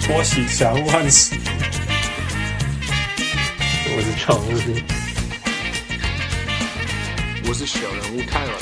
我喜祥萬喜， 我是常務， 我是小人物泰文。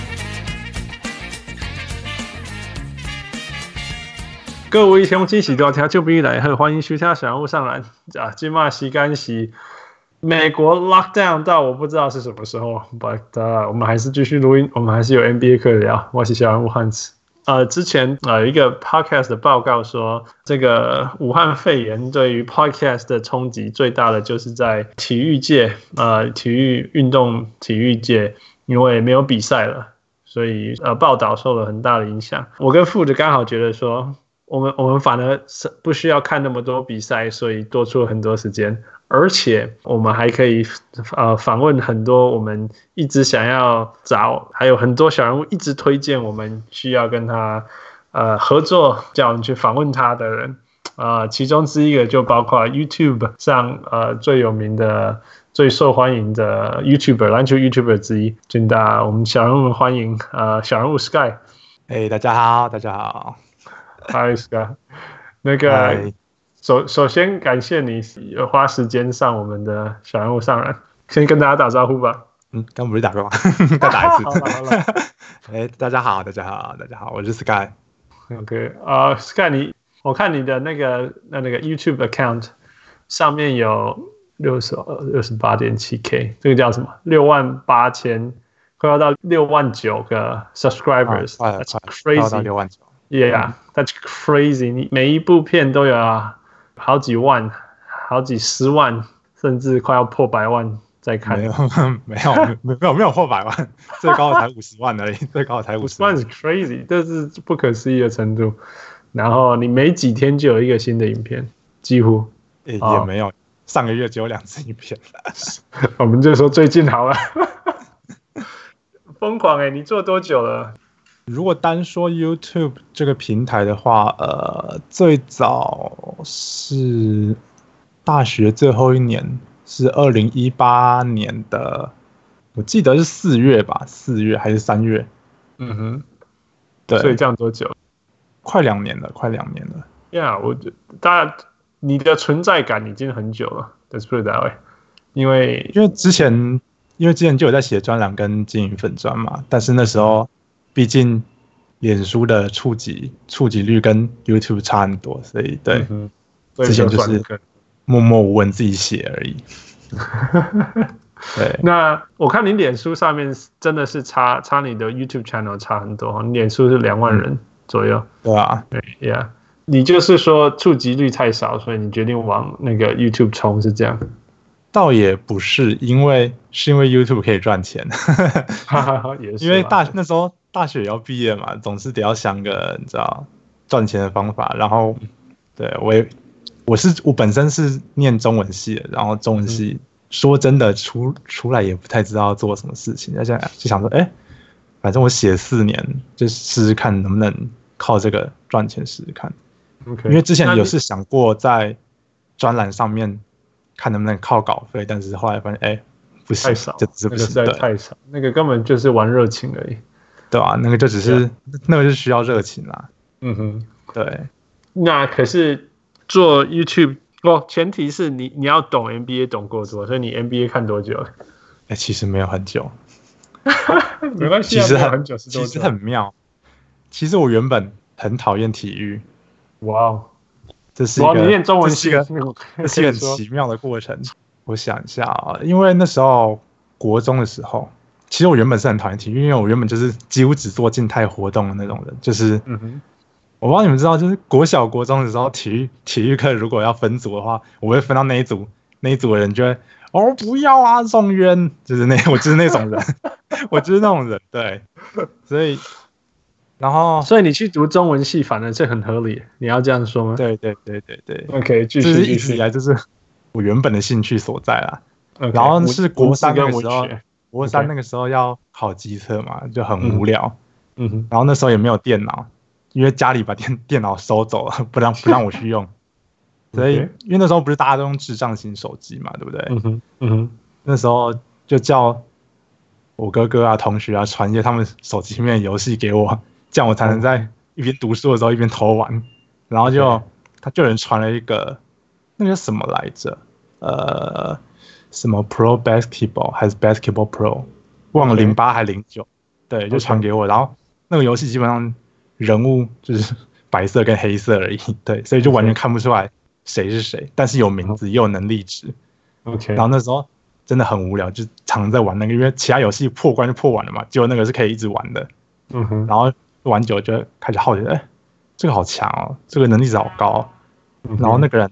各位鄉親喜多聽就必來賀，歡迎收聽小人物上籃啊！今嘛時間是美國 lockdown 到我不知道是什麼時候 ，but 我們還是繼續錄音，我們還是有 NBA 課聊。我是小人物漢斯。之前一個 podcast 的報告說，這個武漢肺炎對於 podcast 的衝擊最大的就是在體育界，體育運動體育界，因為沒有比賽了，所以報道受了很大的影響。我跟富子剛好覺得說，我們反而不需要看那麼多比賽，所以多出了很多時間，而且我們還可以訪問很多我們一直想要找，還有很多小人物一直推薦我們需要跟他合作，叫我們去訪問他的人。其中之一個就包括 YouTube 上最有名的、最受歡迎的 YouTuber 籃球 YouTuber 之一，請我們小人物們歡迎小人物 Sky。 大家好，大家好。 Hi Sky， 那個首先感謝你花時間上我們的小人物上籃，先跟大家打招呼吧。 剛不是打過嗎？再打一次。 好了。 大家好，大家好，大家好，我是 Sky。OK， Sky， 我看你的那個 YouTube account 上面有68.7K， 这個叫什麼？68000，快要到69000個 subscribers，That's crazy， 到69000。 Yeah, that's crazy. 你每一部片都有好幾萬、好幾十萬，甚至快要破100萬在看。 沒有破100萬，最高的才50萬而已，最高的才50萬。 50萬是 crazy， 這是不可思議的程度。然後你每幾天就有一個新的影片，幾乎也沒有，上個月只有2支影片。 我們就說最近好了，瘋狂你做多久了？ 如果單說 YouTube 這個平台的話，最早是大學最後一年，是2018年的，我記得是4月吧，4月還是3月？ 嗯哼， 對， 所以這樣多久？ 快2年了。 Yeah， 你的存在感已經很久了 ，Let's put it that way。因為之前就有在寫專欄跟經營粉專嘛，但是那時候畢竟臉書的觸及率跟 YouTube 差很多，所以對，之前就是默默無聞自己寫而已。對， 那我看你臉書上面真的是差你的 YouTube channel 差很多，你臉書是2萬人左右。 對啊， 對 ，Yeah， 你就是說觸及率太少，所以你決定往那個 YouTube 衝，是這樣？ 倒也不是，因為 YouTube 可以賺錢。 也是， 因為那時候大學也要畢業嘛，總是得要想個你知道賺錢的方法。然後，對我本身是念中文系的，然後中文系說真的出來也不太知道要做什麼事情，就想說，反正我寫4年，就試試看能不能靠這個賺錢試試看。 Okay， 因為之前有是想過在專欄上面看能不能靠稿費，但是後來發現不行， 太少， 這只是不行， 那個實在太少，那個根本就是玩熱情而已。 對啊，那個就只是那個就需要熱情啦。 嗯哼， 對。 那可是做 YouTube，前提是你要懂 NBA 懂夠多，所以你 NBA 看多久了？ 其實沒有很久。 沒關係， 其實很久是多久？ 其實很妙。其實我原本很討厭體育。 哇哦， 這是一個你念中文系， 這是一個很奇妙的過程。我想一下啊，因為那時候國中的時候，其實我原本是很討厭體育，因為我原本就是幾乎只做靜態活動的那種人，就是我不知道你們知道，就是國小國中的時候，體育課如果要分組的話，我會分到那一組的人就會不要啊，宋淵，就是我就是那種人，我就是那種人，對，所以你去讀中文系反而是很合理，你要這樣說嗎？ 對。 OK， 繼續。 就是一直以來就是我原本的興趣所在啦。然後是國3那個時候，國3那個時候要考基測嘛，就很無聊。然後那時候也沒有電腦，因為家裡把電腦收走了，不讓我去用。所以因為那時候不是大家都用智障型手機嘛，對不對？那時候就叫我哥哥啊、同學啊傳一些他們手機裡面的遊戲給我。這樣我才能在一邊讀書的時候一邊偷玩，然後就他就有人傳了一個那個什麼來着，什麼 Pro Basketball 還是 Basketball Pro， 忘了08還09，對，就傳給我，然後那個遊戲基本上人物就是白色跟黑色而已，對，所以就完全看不出來誰是誰，但是有名字也有能力值。 OK， 然後那時候真的很無聊，就常在玩那個，因為其他遊戲破關就破完了嘛，結果那個是可以一直玩的。然後玩久就開始好奇，這個好強哦，這個能力值好高哦。然後那個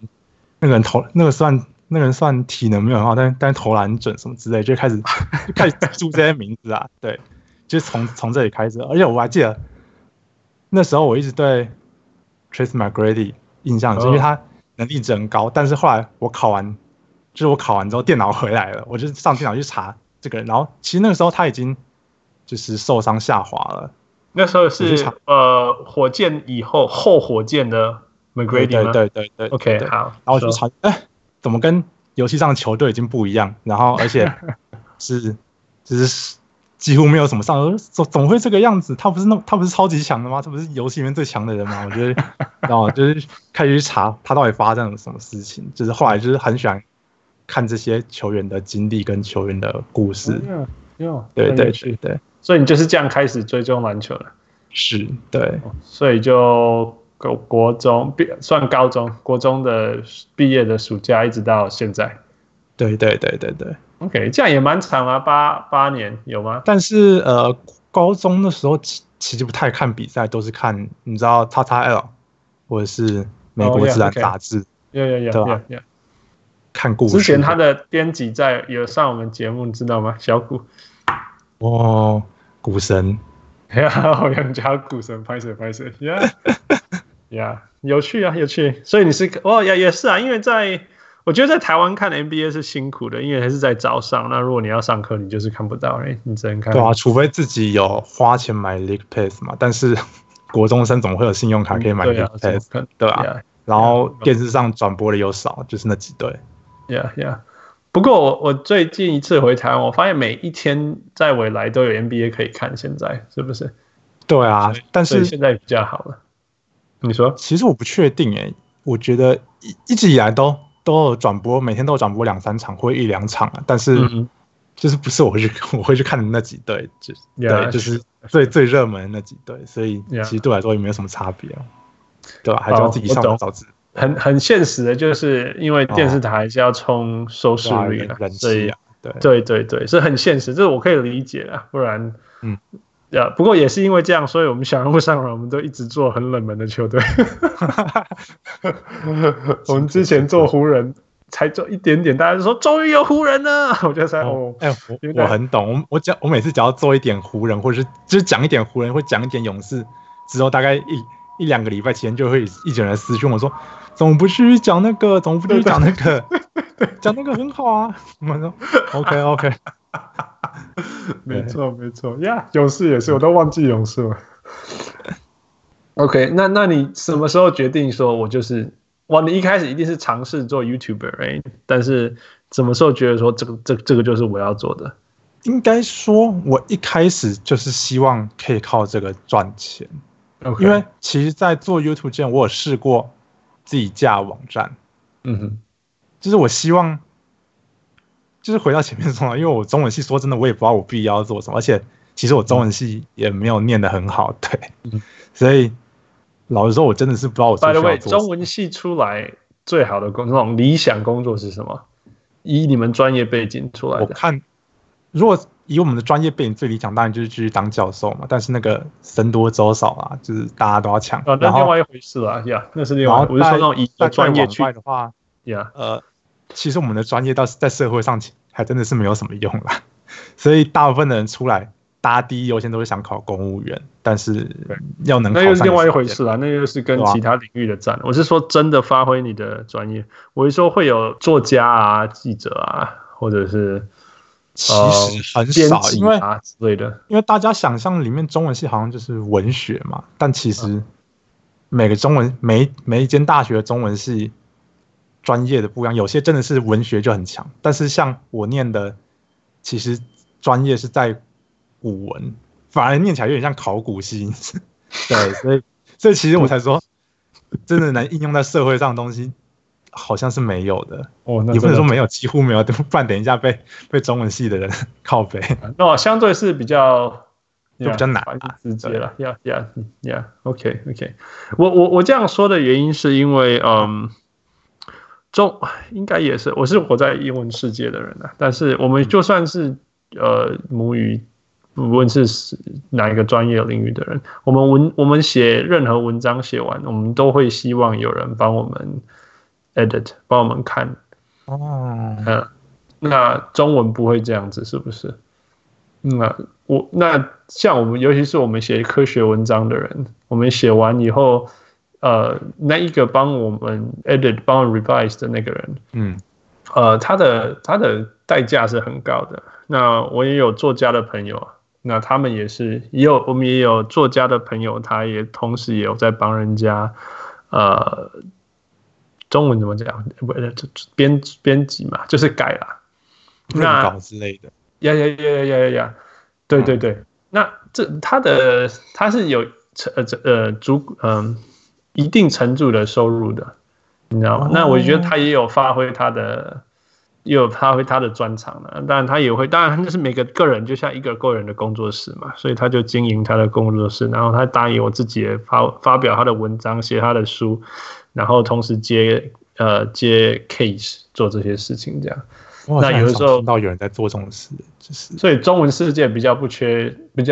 人算體能沒有很好，但是投籃準什麼之類，就開始記住這些名字啊。對，就是從這裡開始。而且我還記得那時候我一直對 Tracy McGrady 印象是因為他能力值很高，但是後來我考完之後電腦回來了，我就上電腦去查這個人，然後其實那個時候他已經就是受傷下滑了。 那時候是火箭以後火箭的 McGrady 嗎？ 對 OK 對， 好， 然後我就查怎麼跟遊戲上的球队已經不一樣，然後而且就是幾乎沒有什麼上，怎麼會這個樣子？他不是超級強的嗎？他不是遊戲裡面最強的人嗎？我覺得，然後就是開始去查他到底發生了什麼事情。就是後來就是很喜歡看這些球員的經歷跟球員的故事。對， 所以你就是這樣開始追蹤籃球了？是， 對， 所以就國中算高中，國中的畢業的暑假一直到現在。 對。 OK， 這樣也蠻長啊，8年有嗎？ 但是高中的時候其實不太看比賽，都是看你知道 XXL 或者是美國自然雜誌， 對吧？ 看故事。 之前他的編輯有上我們節目，你知道嗎？小古。 哦，股神。 好像叫股神，拍攝 ，Yeah， 有趣啊，有趣。所以你是也是啊，因為我覺得在台灣看 NBA 是辛苦的，因為還是在早上。那如果你要上課，你就是看不到，你只能看。 对啊，除非自己有花錢買 League Pass 嘛。但是國中生總會有信用卡可以買 League Pass，對啊。然後電視上轉播的又少，就是那幾隊。 Yeah。不過我最近一次回台灣，我發現每一天在未來都有 NBA 可以看，現在是不是？ 對啊，但是現在比較好了。你說？ 其實我不確定我覺得一直以來都有轉播，每天都有轉播2-3場或1-2場啊，但是就是不是我會去看的那幾隊，對，就是最熱門的那幾隊，所以其實對我來說也沒有什么差別，對吧？還是要自己上網找資料。 很現實的，就是因為電視台還是要衝收視率的，所以對，是很現實，這我可以理解啊，不然不過也是因為這樣，所以我們小人物上來，我們都一直做很冷門的球隊。我們之前做湖人，才做一點點，大家就說終於有湖人了，我就在我很懂，我每次只要做一點湖人，或者是就是講一點湖人，或講一點勇士之後，大概一兩個禮拜前就會一整人私訊我說，怎麼不去講那個？怎麼不去講那個？講那個很好啊。我說 OK。 沒錯呀，勇士也是，我都忘記勇士了。OK， 那你什麼時候決定說我就是你一開始一定是嘗試做 YouTuber， 但是什麼時候覺得說這個就是我要做的？ 應該說，我一開始就是希望可以靠這個賺錢。因為其實，在做 YouTube 之前，我有試過自己架網站。就是我希望，就是回到前面說，因為我中文系，說真的，我也不知道我必要做什麼，而且其實我中文系也沒有念得很好，對，所以老實說，我真的是不知道我需要做什麼。By the way， 中文系出來最好的那種理想工作是什麼？以你們專業背景出來的， 我看，如果以我們的專業背景最理想，當然就是繼續當教授嘛。但是那個僧多粥少啊，就是大家都要搶。 那另外一回事啦，那是另外。我是說那種以專業去的話，其實我們的專業在社會上還真的是沒有什麼用啦。所以大部分的人出來，大家第一優先都是想考公務員，但是要能考上， 那又是另外一回事啦。那又是跟其他領域的戰。我是說真的發揮你的專業。我是說會有作家啊、記者啊，或者是。 其實很少，因為之類的， 因為大家想象裡面中文系好像就是文學嘛，但其實每個中文每一間大學的中文系專業的不一樣，有些真的是文學就很強，但是像我念的，其實專業是在古文，反而念起來有點像考古系，對，所以其實我才說， 真的能應用在社會上的東西，好像是沒有的。 那也不能說沒有，幾乎沒有，不然等一下被中文系的人靠北。 那相對是比較就比較難直接了。OK。我這樣說的原因是因為應該也是我是活在英文世界的人啊，但是我們就算是母語。不論是哪一個專業領域的人，我們寫任何文章寫完，我們都會希望有人幫我們 edit， 幫我們看。那中文不會這樣子，是不是？那像我們，尤其是我們寫科學文章的人，我們寫完以後，那一個幫我們 edit、幫我們 revise 的那個人，他的代價是很高的。那我也有作家的朋友。那他們我們也有作家的朋友，他也同時也有在幫人家，中文怎麼講？編輯嘛，就是改啦， 潤稿之類的。 呀，對。那他是有一定程度的收入的，你知道嗎？那我覺得他也有發揮他的專長了，當然他也会，当然就是每個人就像一個人的工作室嘛，所以他就經營他的工作室，然後他答應我自己也發表他的文章，寫他的書，然後同時接 case 做這些事情這樣。那有的時候聽到有人在做這種事，就是所以中文世界比較不缺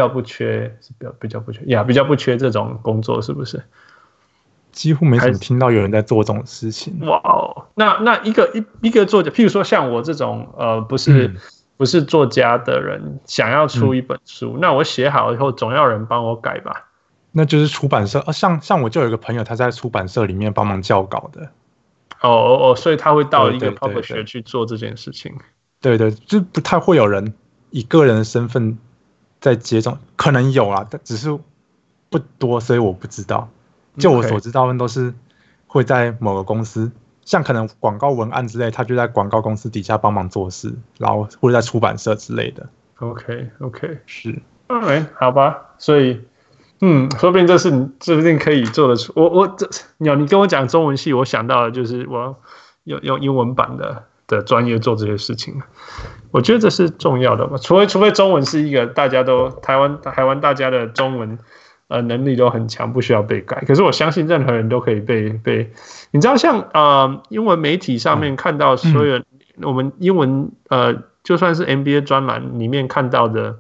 這種工作，是不是？ 幾乎沒什麼聽到有人在做這種事情。 哇哦，那一個作家，譬如說像我這種不是作家的人，想要出一本書，那我寫好以後總要有人幫我改吧？ 那就是出版社像我就有一個朋友，他在出版社裡面幫忙校稿的。 所以他會到一個 publisher 去做這件事情。 对，就不太會有人以個人的身份在接這種，可能有啦，但只是不多，所以我不知道。就我所知道的都是會在某個公司，像可能廣告文案之類，他就在廣告公司底下幫忙做事，然後或者在出版社之類的。 OK， 是， 好吧，所以說不定說不定可以做得出。你跟我講中文系，我想到的就是我要用英文版的專業做這些事情。我覺得這是重要的嘛，除非中文是一個大家都台灣大家的中文。能力都很強，不需要被改。可是我相信任何人都可以被你知道，像英文媒體上面看到所有我們英文就算是 MBA 專欄裡面看到的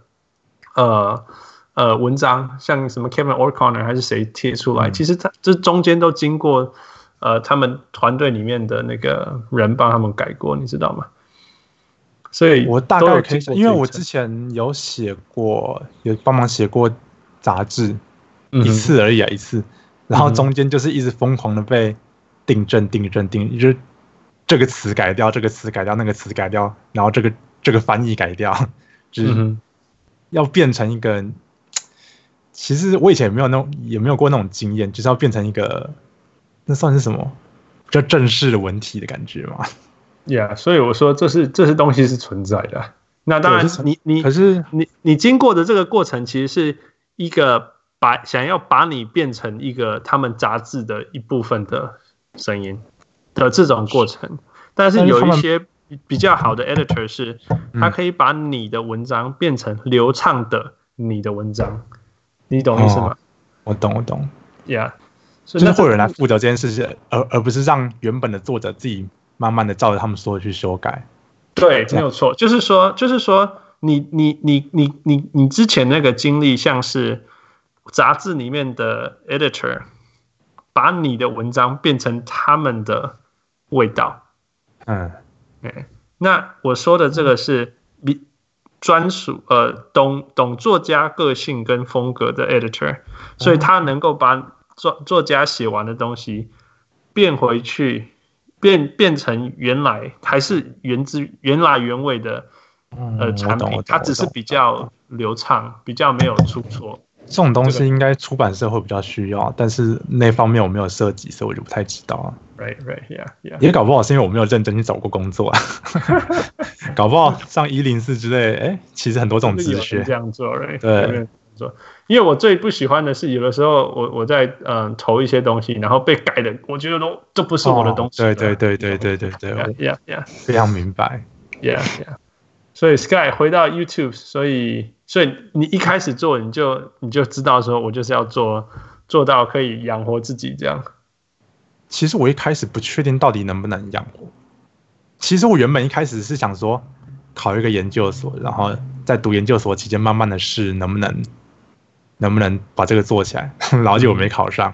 文章，像什麼 Kevin O'Connor 還是誰貼出來，其實這中間都經過他們團隊裡面的那個人幫他們改過，你知道嗎？所以我大概可以，因為我之前有寫過，有幫忙寫過雜誌。一次而已一次，然後中間就是一直瘋狂的被訂正，就是這個詞改掉，這個詞改掉，那個詞改掉，然後這個翻譯改掉，就是要變成一個。其實我以前也沒有過那種經驗，就是要變成一個，那算是什麼比較正式的文體的感覺嘛所以我說這是東西是存在的。那當然你經過的這個過程，其實是一個。想要把你變成一個他們雜誌的一部分的聲音的這種過程，但是有一些比較好的 editor 是，他可以把你的文章變成流暢的你的文章，你懂意思嗎？ 我懂。 就是會有人來負責這件事情，而不是讓原本的作者自己慢慢的照着他們說的去修改。 對，沒有錯，就是說你之前那個經歷像是。雜誌裡面的 editor 把你的文章變成他們的味道，那我說的這個是專屬懂作家個性跟風格的 editor， 所以他能夠把作家寫完的東西變回去，變成原來還是源自原來原味的產品，它只是比較流暢，比較沒有出錯。 這種東西應該出版社會比較需要，但是那方面我沒有涉及，所以我就不太知道啊。 Right, 也搞不好是因為我沒有認真去找過工作啊。搞不好上104之類，其實很多這種職缺這樣做，right？ 對， 做。因為我最不喜歡的是，有的時候我在投一些東西，然後被改的，我觉得都不是我的東西。 對，非常明白。 Yeah。所以 Sky 回到 YouTube， 所以你一開始做，你就知道說，我就是要做到可以養活自己這樣。 其實我一開始不確定到底能不能養活。其實我原本一開始是想說考一個研究所，然後在讀研究所期間慢慢的試能不能把這個做起來，然後結果沒考上，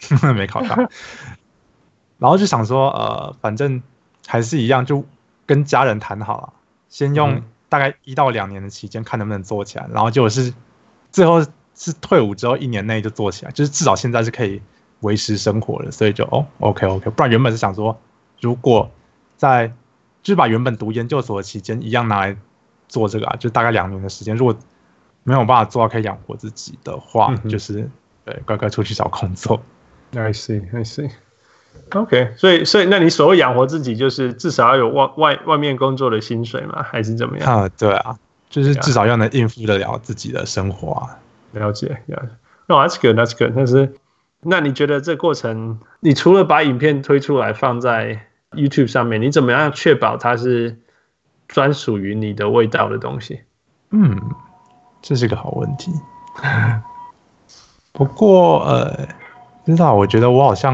然後就想說反正還是一樣，就跟家人談好了，先用大概1到2年的期間看能不能做起來，然後結果是最後是退伍之後1年內就做起來，就是至少現在是可以維持生活的，所以就OK， 不然原本是想說如果就是把原本讀研究所的期間一樣拿來做這個就大概2年的時間，如果沒有辦法做到可以養活自己的話，就是對乖乖出去找工作。 I see. OK， 所以那你所謂養活自己，就是至少要有外面工作的薪水嗎？還是怎麼樣？ 對啊，就是至少要能應付得了自己的生活啊。 了解。No, that's good. 但是那你覺得這過程，你除了把影片推出來放在 YouTube 上面，你怎麼樣確保它是專屬於你的味道的東西？ 這是個好問題。不過不知道，我覺得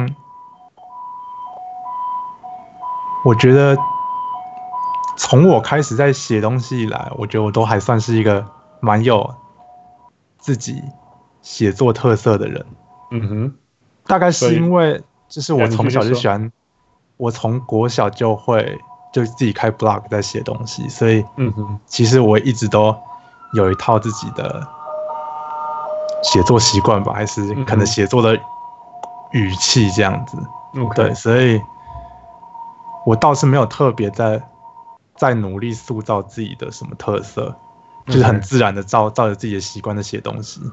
從我開始在寫東西以來，我覺得我都還算是一個蠻有自己寫作特色的人。大概是因為就是我從小就喜歡，我從國小就自己開 blog 在寫東西，所以其實我一直都有一套自己的寫作習慣吧，還是可能寫作的語氣這樣子。對，所以我倒是沒有特別在努力塑造自己的什麼特色，就是很自然的照着自己的習慣在寫東西。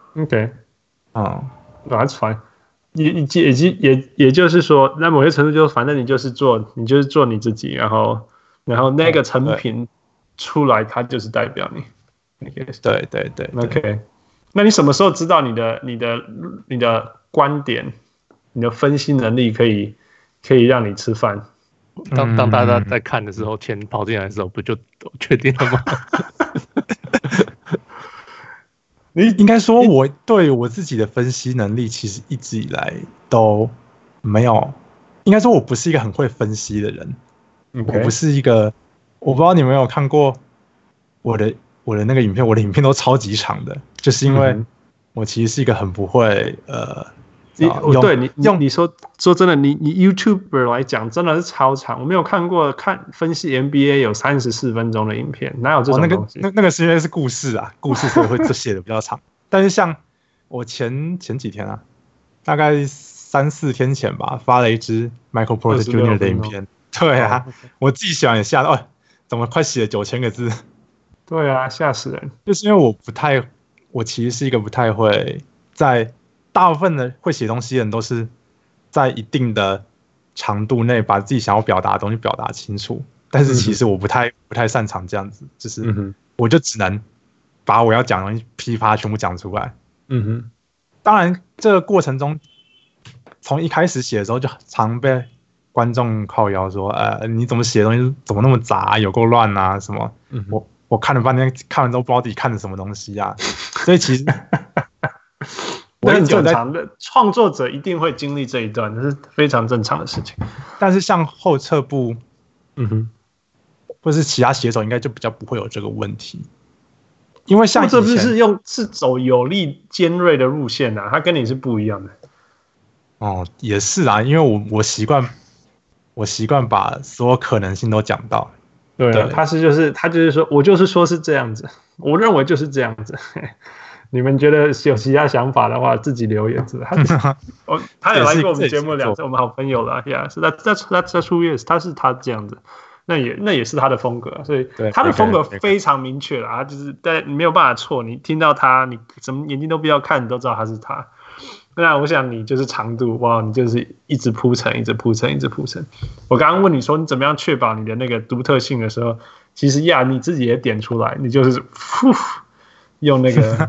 That's fine。也就是說，那某些程度就是，反正你就是做你自己，然後那個成品出來，它就是代表你。 對。 OK， 那你什麼時候知道你的觀點、你的分析能力可以讓你吃飯？ 當大家在看的時候，錢跑進來的時候，不就確定了嗎？ 你應該說，我對我自己的分析能力其實一直以來都沒有。應該說，我不是一個很會分析的人。我不是一個，我不知道你們有沒有看過我的那個影片，我的影片都超級長的，就是因為我其實是一個很不會對你說真的，你 YouTuber 來講真的是超長，我沒有看過分析 NBA 有34分鐘的影片，哪有這種東西？ 那個是因為是故事啊，故事所以会寫的比較長。但是像我前幾天啊，大概3-4天前吧，發了一支 Michael Porter Jr. 的影片。對啊，我自己写完也嚇到，怎麼快寫了9000個字？ 對啊，嚇死人！ 就是因為我其實是一個不太會在。大部分的會寫東西的人都是在一定的長度內把自己想要表達的東西表達清楚，但是其實我不太擅長這樣子，就是我就只能把我要講的東西噼啪全部講出來。當然這個過程中，從一開始寫的時候就常被觀眾靠腰說，你怎麼寫的東西怎麼那麼雜，有夠亂啊什麼？我看了半天，看完之後不知道自己看的什麼東西啊，所以其實。 那很正常的，創作者一定會經歷這一段，這是非常正常的事情。 但是像後撤步，或是其他寫手，應該就比較不會有這個問題，因為像這不是走有力尖銳的路線啊，它跟你是不一樣的。 也是啊，因為我習慣把所有可能性都講到。 對，他就是说我就是說是這樣子，我認為就是這樣子。你們覺得有其他想法的話，自己留言。他有來過我們節目2次，我們好朋友了。Yeah， 是that's who he is，他是他這樣子，那也是他的風格，所以他的風格非常明確了。他就是但你沒有辦法錯，你聽到他，你什麼眼睛都不要看，你都知道他是他。那我想你就是長度，哇，你就是一直鋪陳，一直鋪陳，一直鋪陳。我剛剛問你說你怎麼樣確保你的那個獨特性的時候，其實你自己也點出來，你就是用那個。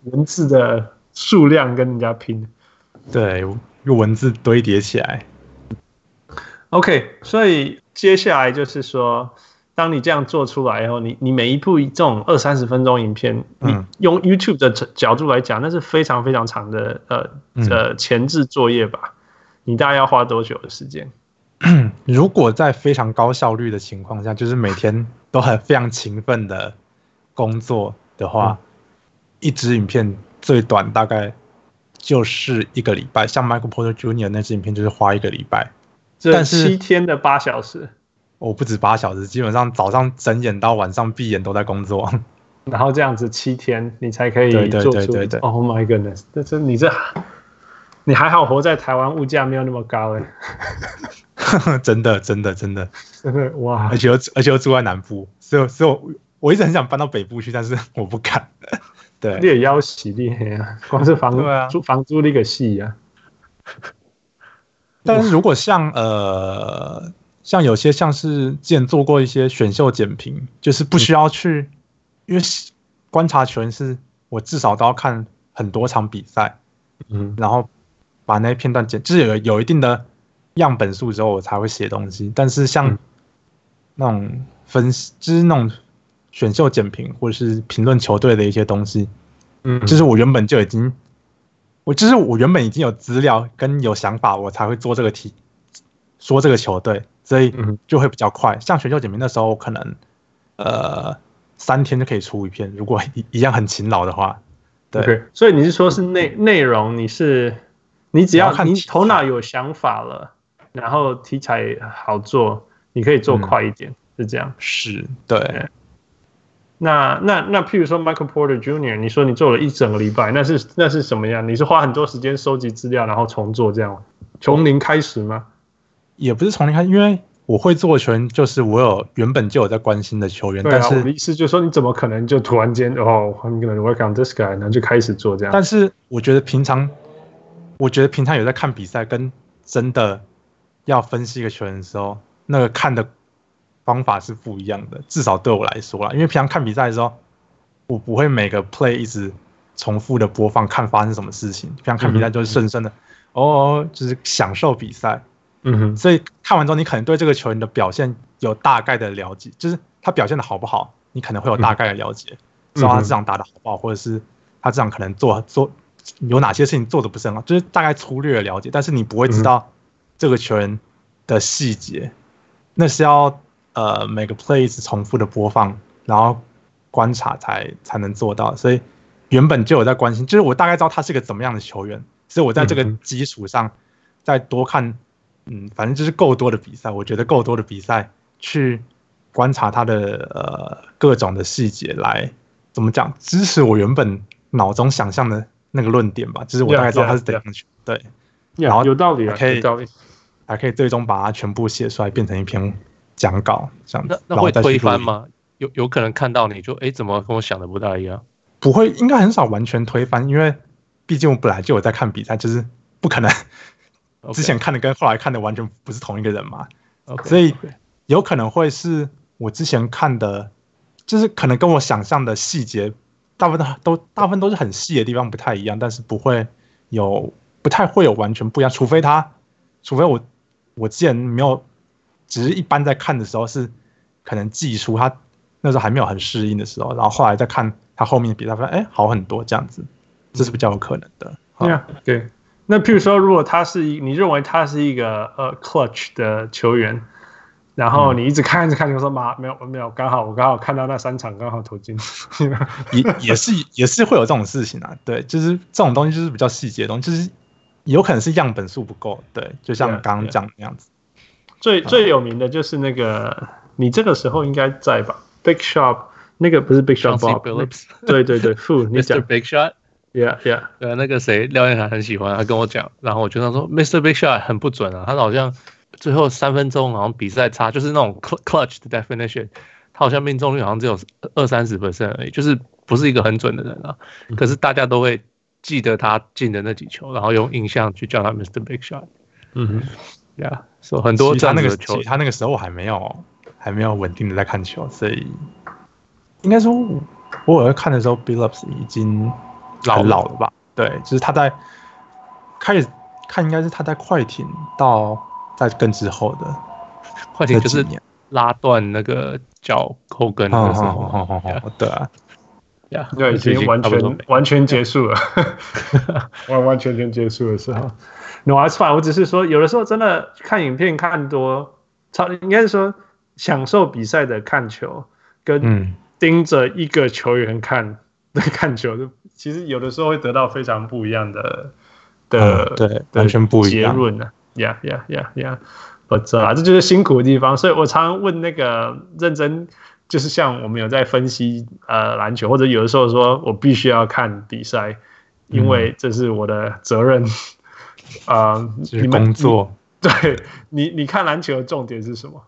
文字的數量跟人家拼。 對，用文字堆疊起來。 OK， 所以接下來就是說，當你這樣做出來以後，你每一部這種20-30分鐘影片，你用 YouTube 的角度來講，那是非常非常長的前置作業吧？你大概要花多久的時間？ 如果在非常高效率的情況下，就是每天都很非常勤奮的工作的話，一支影片最短大概就是1個禮拜。像 Michael Porter Jr. 那支影片就是花1個禮拜， 但是7天的8小時， 我不止8小時，基本上早上睁眼到晚上閉眼都在工作， 然後这樣子7天你才可以做出。對。Oh my goodness， 你還好活在台灣，物價沒有那麼高哎。 真的哇！而且又住在南部，所以我一直很想搬到北部去，但是我不敢。對， 你也要死厲害啊！光是房租那個戲啊。 但是如果像有些像是之前做過一些選秀簡評，就是不需要去，因為觀察球員是我至少都要看很多場比賽，然後把那些片段就是有一定的樣本數之後，我才會寫東西。但是像那種分析，就是那種選秀簡評或者是評論球隊的一些東西，就是我原本就已經，我原本已經有資料跟有想法，我才會做這個題，說這個球隊，所以就會比較快。像選秀簡評的時候，我可能3天就可以出一篇，如果一樣很勤勞的話。對， okay， 所以你是說是內容，你只要你頭腦有想法了，然後題材好做，你可以做快一點，是這樣。 是，對。 那譬如說 Michael Porter Jr.， 你說你做了1整個禮拜，那是什麼樣？你是花很多時間收集資料，然後重做這樣，從零開始嗎？ 也不是從零開始，因為我會做的球員就是我原本就有在關心的球員。 對啊， 但是我的意思就是說，你怎麼可能就突然間I'm gonna work on this guy， 然後就開始做這樣？ 但是我覺得平常有在看比賽，跟真的要分析一個球員的時候，那個看的方法是不一樣的，至少對我來說啦。因為平常看比賽的時候，我不會每個 play 一直重複的播放，看發生什麼事情。平常看比賽就是順順的，就是享受比賽。所以看完之後，你可能對這個球員的表現有大概的了解，就是他表現的好不好，你可能會有大概的了解，知道他這場打的好不好，或者是他這場可能做有哪些事情做的不是很好，就是大概粗略的了解，但是你不會知道這個球員的細節，那是要每個 play 一直重複的播放，然後觀察才能做到。所以原本就有在關心，就是我大概知道他是個怎麼樣的球員，所以我在這個基礎上再多看。反正就是夠多的比賽，我覺得夠多的比賽去觀察他的各種的細節，來怎麼講支持我原本腦中想象的那個論點吧。就是我大概知道他是怎樣的球，對， 然後有道理啊，有道理， 還可以最終把它全部寫出來，變成一篇講稿這樣子。 那會推翻嗎？有可能看到你就怎麼跟我想的不大一樣？ 不會，應該很少完全推翻，因為畢竟我本來就有在看比賽，就是不可能。之前看的跟後來看的完全不是同一個人嘛，所以有可能會是我之前看的，就是可能跟我想象的細節大部分都是很細的地方不太一樣，但是不太會有完全不一樣，除非我之前沒有，只是一般在看的時候是可能技術他那時候還沒有很適應的時候，然後後來再看他後面的比賽，發現好很多這樣子，這是比較有可能的。 對。那譬如說，如果你認為他是一個clutch 的球員，然後你一直看，你說沒有，剛好看到那3場剛好投進， 也是會有這種事情啊。對，就是這種東西就是比較細節的東西，就是有可能是樣本數不夠。對，就像剛剛講的那樣子。 最有名的就是那個，你這個時候應該在吧 ？Big Shot 那個不是 Big Shot Bob， 對 ，Mr. Big Shot。Yeah， 那個誰廖彥涵很喜歡，他跟我講，然後我就跟他說 Mr. Big Shot 很不準啊，他好像最後3分鐘好像比賽差，就是那種 clutch 的 definition， 他好像命中率好像只有20-30% 而已，就是不是一個很準的人啊。可是大家都會記得他進的那幾球，然後用印象去叫他 Mr. Big Shot。所以很多這樣的球， 他那個時候還沒有穩定的在看球，所以應該說我有看的時候 Billups 已經很老了吧？對，就是他在開始看，應該是他在快艇到在更之後的快艇就是拉斷那個腳後跟的時候， 對啊， 對，已經完全結束了，完全結束的時候。No, that's fine. 我只是說，有的時候真的看影片看多，應該是說享受比賽的看球，跟盯着一個球員看球，其實有的時候會得到非常不一樣的對，完全不一樣結論呢。Yeah. 這就是辛苦的地方。所以我常常問那個認真，就是像我們有在分析籃球，或者有的時候說我必須要看比賽，因為這是我的責任。 你們工作對你看籃球的重點是什麼？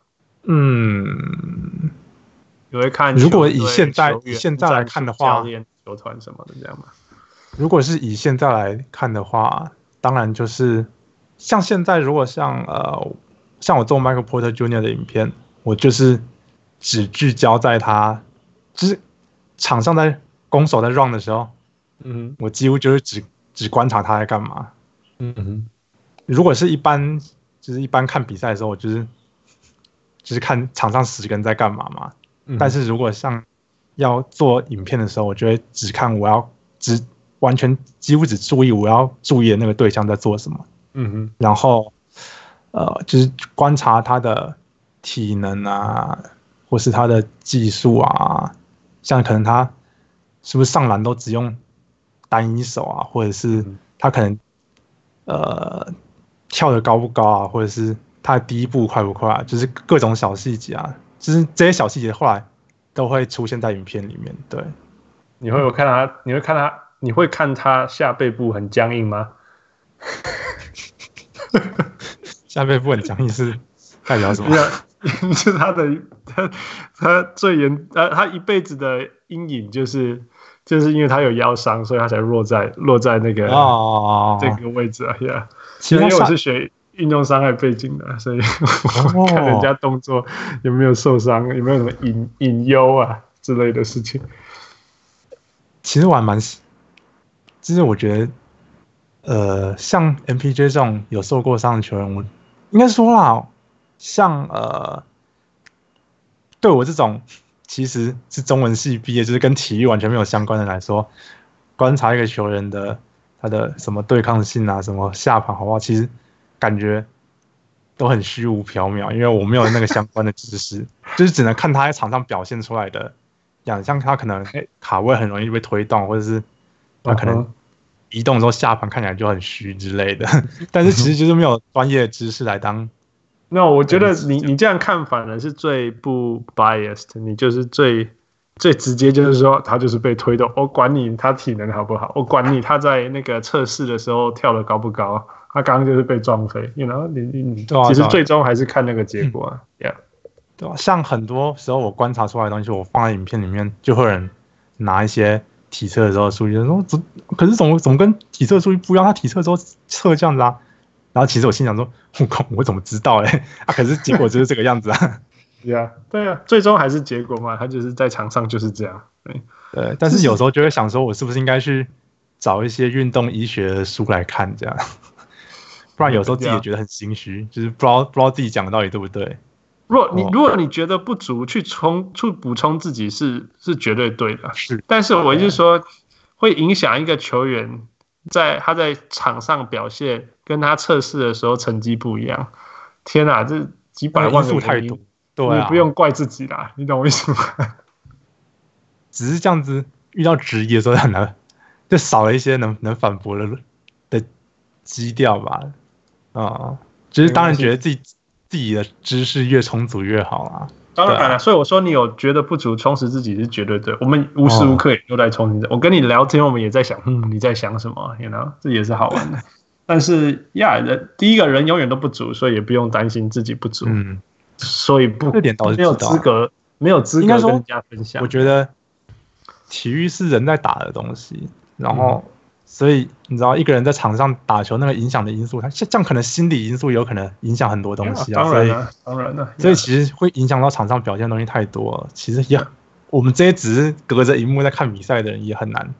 你會看？如果以現在來看的話， 教練、球團什麼的這樣嗎？ 如果是以現在來看的話，當然就是像現在，如果像我做 Michael Porter Jr. 的影片，我就是只聚焦在他，就是場上在攻守在 run 的時候，我幾乎就是只觀察他在幹嘛。如果是一般看比賽的時候，我就是看場上10個人在幹嘛嘛。但是如果像要做影片的時候，我就會只看完全幾乎只注意我要注意的那個對象在做什麼。然後就是觀察他的體能啊，或是他的技術啊，像可能他是不是上籃都只用單一手啊，或者是他可能跳得高不高啊，或者是他的第一步快不快啊，就是各種小細節啊，就是這些小細節後來都會出現在影片裡面。对， 你會看他下背部很僵硬嗎？ 下背部很僵硬是代表什麼？ 是他他一輩子的陰影就是因為他有腰傷，所以他才落在那個這個位置啊。因為我是學運動傷害背景的，所以我看人家動作有沒有受傷，有沒有什麼隱憂啊之類的事情。 其實我還就是我覺得，像 MPJ 這種有受過傷的球員，我應該說啦，像對我這種其實是中文系畢業，就是跟體育完全沒有相關的來說，觀察一個球員的他的什麼對抗性啊，什麼下盤好不好，其實感覺都很虛無縹緲，因為我沒有那個相關的知識，就是只能看他在場上表現出來的樣子，像他可能卡位很容易被推動，或者是他可能移動的時候下盤看起來就很虛之類的，但是其實就是沒有專業的知識來當。 那我覺得你這樣看反而是最不 biased， 你就是最直接，就是說他就是被推動，我管你他體能好不好，我管你他在那個測試的時候跳得高不高，他剛剛就是被撞飛，你其實最終還是看那個結果啊。 對啊，像很多時候我觀察出來的東西，我放在影片裡面，就會有人拿一些體測的時候的數據說，可是怎麼跟體測數據不一樣？他體測的時候測這樣子啊。然後其實我心想說，我怎麼知道可是結果就是這個樣子啊。 對啊，最終還是結果嘛，他就是在場上就是這樣。 對，但是有時候就會想說，我是不是應該去找一些運動醫學的書來看，這樣，不然有時候自己也覺得很心虛，就是不知道自己講的到底對不对。 如果你覺得不足，去補充自己是絕對對的。是，但是我就是說，會影響一個球員他在場上表現，跟他測試的時候成績不一樣。天啊，這幾百萬個因素太多，對啊，你不用怪自己啦，你懂我意思嗎？ 只是這樣子，遇到質疑的時候很難，就少了一些能反駁的基調吧。就是當然覺得自己的知識越充足越好啊。 當然了，所以我說你有覺得不足，充實自己是絕對对。我們無時無刻也都在充實。我跟你聊天，我們也在想，你在想什麼 ？You know， 這也是好玩的。但是第一個人永遠都不足，所以也不用擔心自己不足。所以這點倒是沒有資格跟人家分享。 我覺得體育是人在打的東西，然後所以你知道，一个人在场上打球那個影響的因素，他這樣可能心理因素有可能影響很多東西啊。 當然了， 所以其實會影響到場上表現的東西太多了。其實我們這些只是隔着熒幕在看比賽的人，也很難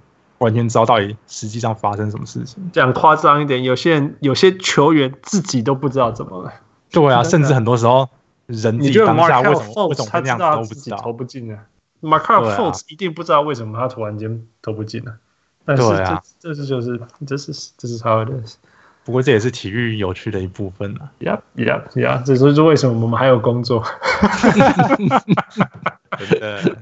完全知道到底實際上發生什麼事情。 講誇張一點，有些球員自己都不知道怎麼了。 對啊，甚至很多時候人自己當下為什麼他知道自己投不進呢？Markelle Fultz 一定不知道為什麼他突然間投不進了。但是這是 how it is。 不過這也是體育有趣的一部分啊。 Yeah， 這就是為什麼我們還有工作。 真的。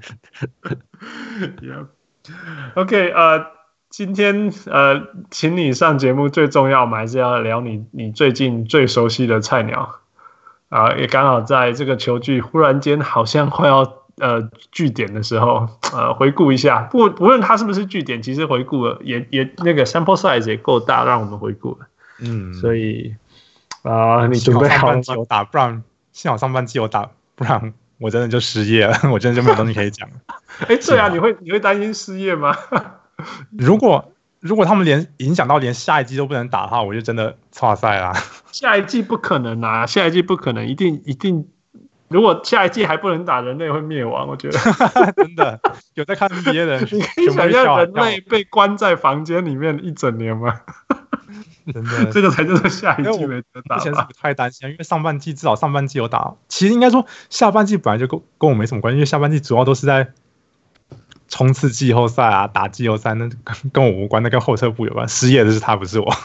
OK， 今天請你上節目最重要，我們還是要聊你最近最熟悉的菜鳥也剛好在這個球季忽然間好像快要據點的時候，回顧一下，不論他是不是據點，其實回顧了也那個 sample size 也夠大，讓我們回顧了。所以你準備好了嗎？ 上半季有打，不然幸好上半季有打，不然我真的就失業了，我真的就沒有東西可以講了。 對啊，你會擔心失業嗎？ 如果他們影響到連下一季都不能打的話，我就真的挫賽啦。 下一季不可能啊，下一季不可能，一定。如果下一季還不能打，人類會滅亡。我覺得真的有在看 NBA 的人， 你可以想象人類被關在房間裡面一整年嗎？ 真的， 這個才就是下一季沒得打。 之前是不太擔心，因為至少上半季有打。其實應該說下半季本來就跟我沒什麼關係，因為下半季主要都是在衝刺季後賽啊，打季後賽，那跟我無關，那跟後撤步有關。失業的是他，不是我。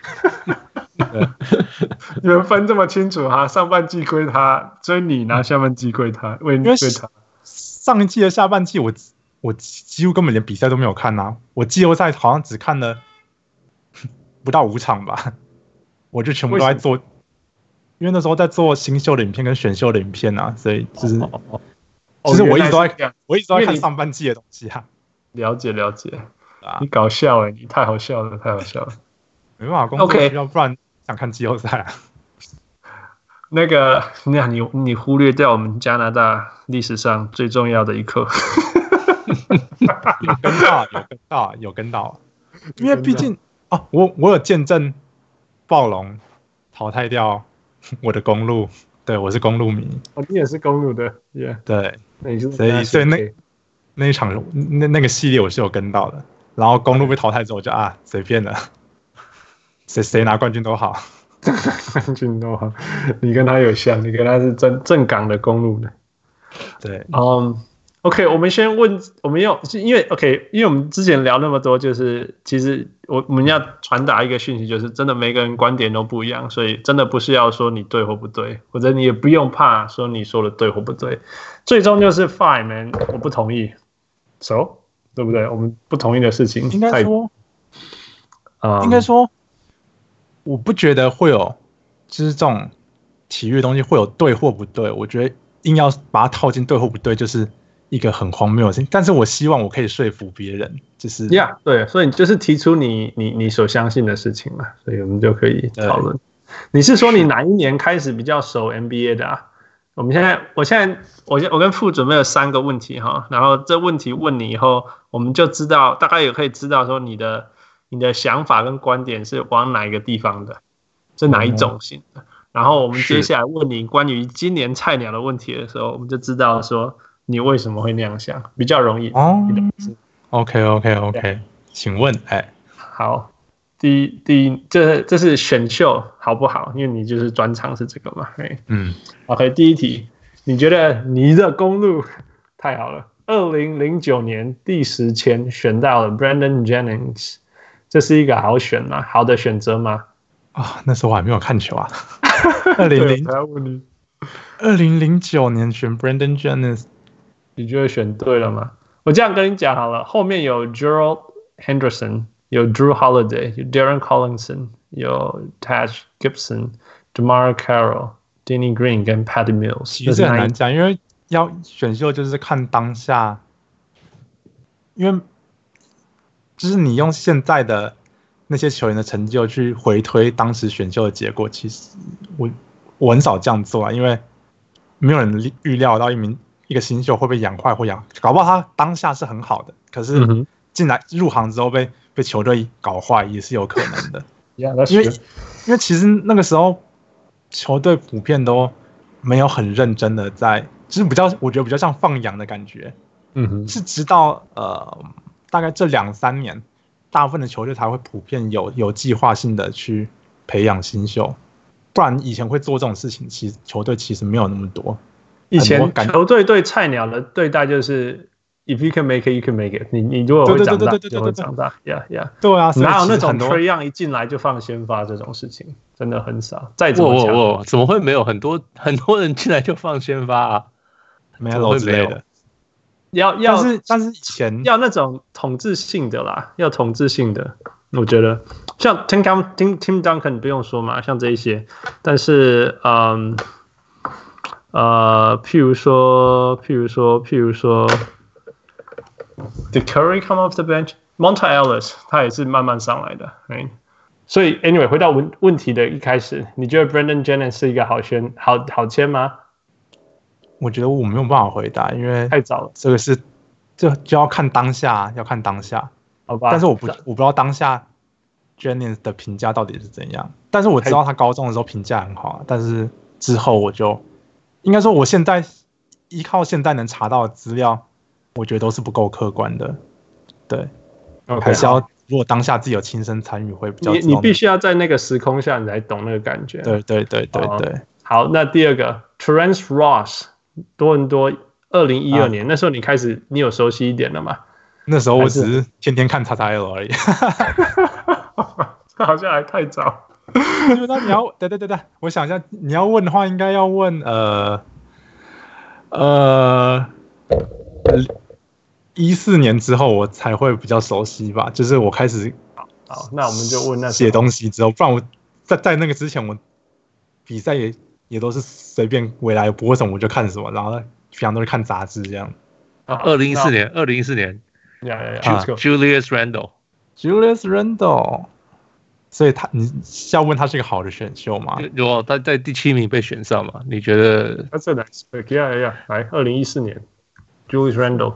你們分這麼清楚哈？上半季歸他追你，然後下半季歸他，歸他。 上一季的下半季我幾乎根本連比賽都沒有看啊，我季後賽好像只看了不到5場吧，我就全部都在做，因為那時候在做新秀的影片跟選秀的影片啊，所以就是其實我一直都在看上半季的東西啊。 了解，你搞笑你太好笑了， 沒辦法工作需要，不然想看季後賽啊。 那你忽略掉我們加拿大歷史上最重要的一刻。有跟到，因為畢竟我有見證暴龍淘汰掉我的公鹿，對，我是公鹿迷。你也是公鹿的 ，Yeah， 對，所以那一場那個系列我是有跟到的。然後公鹿被淘汰之後，我就隨便了，誰拿冠軍都好。冠軍都好，你跟他有像，你跟他是正港的公鹿的。对，OK， 我们先問，因為我們之前聊那麼多，就是其實我們要傳達一個訊息，就是真的每個人觀點都不一樣，所以真的不是要說你對或不對，或者你也不用怕說你說的對或不對，最終就是 fine man， 我不同意 ，so 對不對？我們不同意的事情，應該說，我不覺得會有，就是這種體育的東西會有對或不對，我覺得硬要把它套進對或不對，就是一個很荒謬的事情。但是我希望我可以說服別人，就是對，所以你就是提出你所相信的事情嘛，所以我們就可以討論。你是說你哪一年開始比較熟 NBA 的啊？我跟傅準備了3個問題哈，然後這問題問你以後，我們就知道大概也可以知道說你的想法跟觀點是往哪一個地方的，是哪一種型的。然後我們接下來問你關於今年菜鳥的問題的時候，我們就知道說你為什麼會那樣想，比較容易。OK， 請問，好，第一，這是選秀好不好？因為你就是專長是這個嘛。OK， 第一題，你覺得你的公鹿太好了？2009年第10籤選到了 Brandon Jennings， 這是一個好選嗎？好的選擇嗎？那時候我還沒有看球啊。2009年選 Brandon Jennings， 你覺得選對了嗎？我這樣跟你講好了，後面有 Gerald Henderson， 有 Drew Holiday， 有 Darren Collison， 有 Taj Gibson、DeMar Carroll、Danny Green 跟 Patty Mills。其實很難講，因為要選秀就是看當下，因為就是你用現在的那些球員的成就去回推當時選秀的結果，其實我很少這樣做啊，因為沒有人預料到一個新秀會被養壞或搞不好他當下是很好的，可是進來入行之後被球隊搞壞也是有可能的。因為其實那個時候球隊普遍都沒有很認真的在，就是我覺得比較像放養的感覺。是直到大概這2-3年大部分的球隊才會普遍有計劃性的去培養新秀，不然以前會做這種事情，其實球隊其實沒有那麼多。 以前球隊對菜鳥的對待就是 ，if you can make it, you can make it 你如果會長大，就會長大。Yeah. 對啊， 哪有那種 Trae Young 一進來就放先發這種事情，真的很少。再怎麼講， 怎麼會沒有很多人進來就放先發啊？ 沒有之類的。但是以前要那種統治性的啦，要統治性的，我覺得像 Tim Duncan 不用說嘛，像這一些，但是譬如說 ，Did Curry come off the bench? Monta Ellis 他也是慢慢上來的， right? 所以 anyway 回到問題的一開始，你覺得 Brandon Jennings 是一個好簽嗎？ 我覺得我沒有辦法回答，因為太早了。 這就要看當下，好吧？但是我不知道當下 Jennings 的評價到底是怎樣。但是我知道他高中的時候評價很好，但是之後我就應該說，我現在依靠現在能查到的資料，我覺得都是不夠客觀的。對， okay, 還是要如果當下自己有親身參與，會比較你必須要在那個時空下，你才懂那個感覺。 對。 好，那第二個 Terrence Ross。多倫多2012年，那時候你有熟悉一點了嗎？ 那時候我只是天天看 XXL 而已， 這好像還太早。 那你要對，我想一下，你要問的話，應該要問14年之後我才會比較熟悉吧，就是我開始好，那我們就問那寫東西之後，不然我在那個之前我比賽也都是隨便未來播什麼我就看什麼，然後平常都是看雜誌這樣。 2014年，Julius Randle， 所以你要問他是一個好的選秀嗎？ 如果他在第7名被選上嘛？你覺得？ 他这來 ，yeah， 來2014年 ，Julius Randle。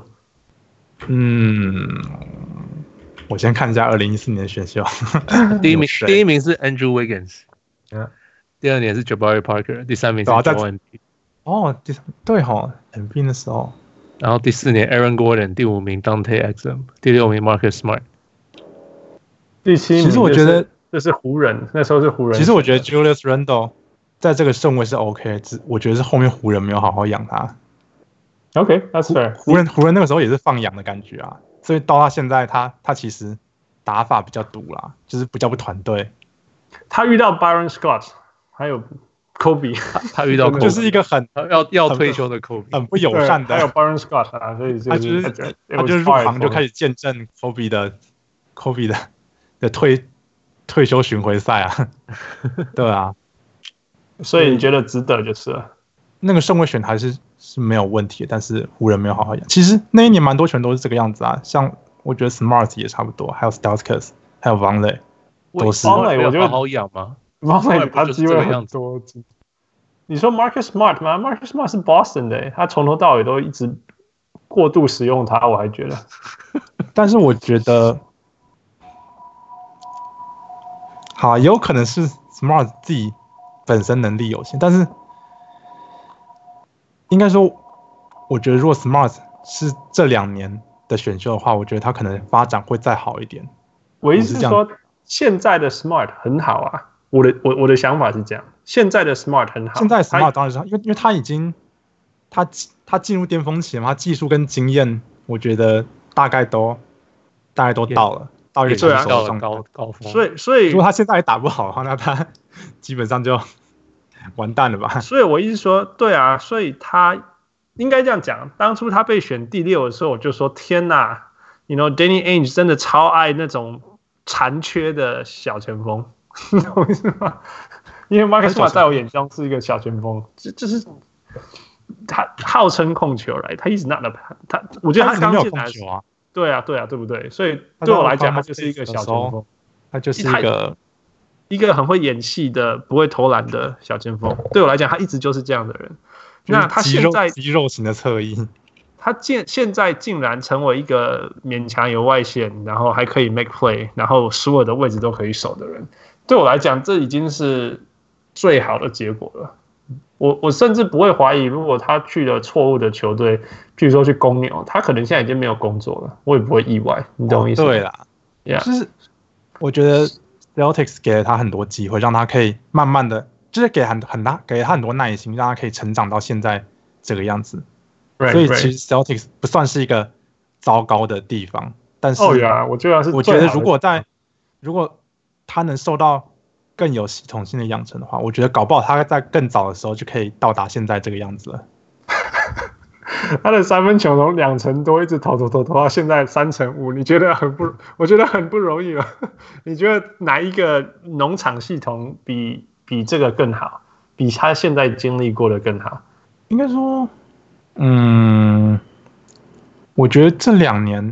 我先看一下2014年的選秀。 第一名是 Andrew Wiggins。第2年是 Jabari Parker， 第3名是 Joel Embiid。 對齁 ，Embiid 的時候。 然後第4年 Aaron Gordon， 第5名 Dante Exum， 第6名 Marcus Smart。 第7名，其實我覺得這是湖人，那時候是湖人。 其實我覺得 Julius Randle 在這個順位是 OK， 我覺得是後面湖人沒有好好養他。 OK，that's fair。 湖人那個時候也是放養的感覺啊，所以到他現在他其實打法比較獨啦，就是比較不團隊。 他遇到 Byron Scott。還有 Kobe， 他遇到 Kobe, 就是一個要退休的 Kobe， 很不友善的。 還有 Byron Scott 啊，所以他就是入行就開始見證 Kobe 的退休巡迴賽啊，對啊， 所以你覺得值得就是了。 那個順位選還是沒有問題的，但是湖人沒有好好養。其實那一年蠻多球都是這個樣子啊，像我覺得 Smart 也差不多，還有 Stauskas， 還有 Vonleh 都是。 Vonleh 我覺得好好養嗎？ 他機會很多。你說 Marcus Smart 嗎 ？Marcus Smart 是 Boston 的，他從頭到尾都一直過度使用他，我還覺得。 但是我覺得，好，也有可能是 Smart 自己本身能力有限，但是應該說，我覺得如果 Smart 是這2年的選秀的話，我覺得他可能發展會再好一點。 我意思是說，現在的 Smart 很好啊。我的想法是這樣，現在的 Smart 很好。 現在 Smart 當然是因為他已經他進入巔峰期了嘛，他技術跟經驗，我覺得大概都到了，到一個成熟的高峰。 所以如果他現在也打不好的話，那他基本上就完蛋了吧？ 所以我意思說，對啊，所以他應該這樣講。當初他被選第6的時候，我就說天哪 ，you know，Danny Ainge 真的超愛那種殘缺的小前鋒。你懂我意思嗎？因為 Marcus Smart 在我眼中是一個小前鋒，就是他號稱控球來，他一直拿的他，我覺得他剛進來的啊，對啊，對不對？所以對我來講，他就是一個小前鋒， 他就是一個很會演戲的、不會投籃的小前鋒。對我來講，他一直就是這樣的人。那他現在肌肉型的側翼， 他現在竟然成為一個勉強有外線，然後還可以 make play， 然後所有的位置都可以守的人。對我來講，這已經是最好的結果了。我甚至不會懷疑，如果他去了錯誤的球隊，譬如說去公牛，他可能現在已經沒有工作了，我也不會意外。你懂我意思嗎？ 對啦， 就是我覺得 Celtics 給了他很多機會，讓他可以慢慢的，就是給他很多耐心，讓他可以成長到現在這個樣子。所以其實 Celtics 不算是一個糟糕的地方，但是我覺得如果他能受到更有系統性的養成的話，我覺得搞不好他在更早的時候就可以到達現在這個樣子了。 他的三分球從2成多一直投到現在3成5，你覺得我覺得很不容易了。你覺得哪一個農場系統比這個更好，比他現在經歷過的更好？ 應該說，我覺得這2年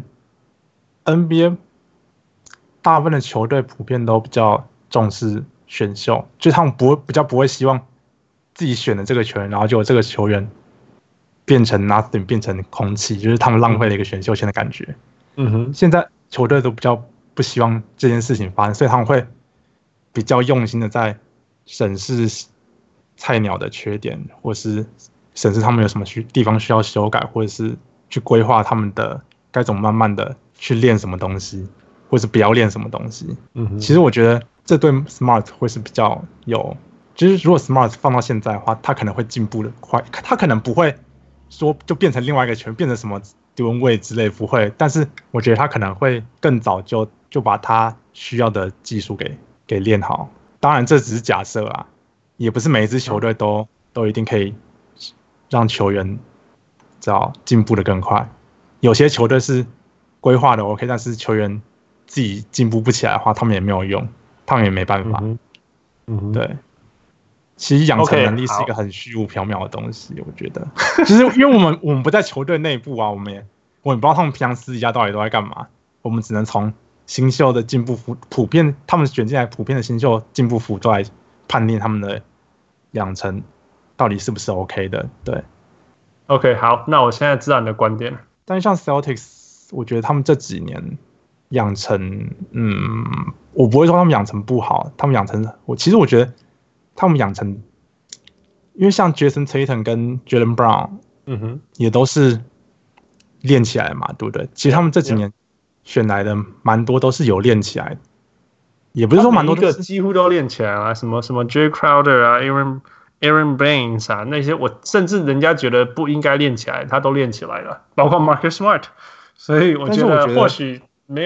NBA 大部分的球隊普遍都比較重視選秀，就他們比較不會希望自己選的這個球員，然後就這個球員變成 nothing， 變成空氣，就是他們浪費了一個選秀權的感覺。現在球隊都比較不希望這件事情發生，所以他們會比較用心的在審視菜鳥的缺點，或是審視他們有什麼地方需要修改，或者是去規劃他們的該怎麼慢慢的去練什麼東西，或是不要練什麼東西。其實我覺得這對 Smart 會是比較有，就是如果 Smart 放到現在的話，他可能會進步的快，他可能不會說就變成另外一個球員，變成什麼Dwyane Wade之類，不會。但是我覺得他可能會更早就把他需要的技術給練好。當然這只是假設啊，也不是每一支球隊都一定可以讓球員進步的更快。有些球隊是規劃的 OK， 但是球員自己進步不起來的話，他們也沒有用，他們也沒辦法。對。其實養成能力是一個很虛無縹緲的東西，我覺得，就是因為我們不在球隊內部啊，我們也不知道他們平常私底下到底都在幹嘛，我們只能從新秀的進步普遍，他們選進來普遍的新秀進步幅度來判定他們的養成到底是不是 OK 的。對 ，OK， 好，那我現在知道你的觀點了。 但是像 Celtics， 我覺得他們這幾年養成，我不會說他們養成不好，他们養成，其實我覺得。他們養成，因為像 Jason Tatum 跟 Jaylen Brown，也都是練起來嘛，對不對？其實他們這幾年選來的蠻多都是有練起來的，也不是說蠻多，個幾乎都練起來了，什麼 Jay Crowder 啊 ，Aaron Baines 啊，那些我甚至人家覺得不應該練起來，他都練起來了，包括 Marcus Smart， 所以我覺得或許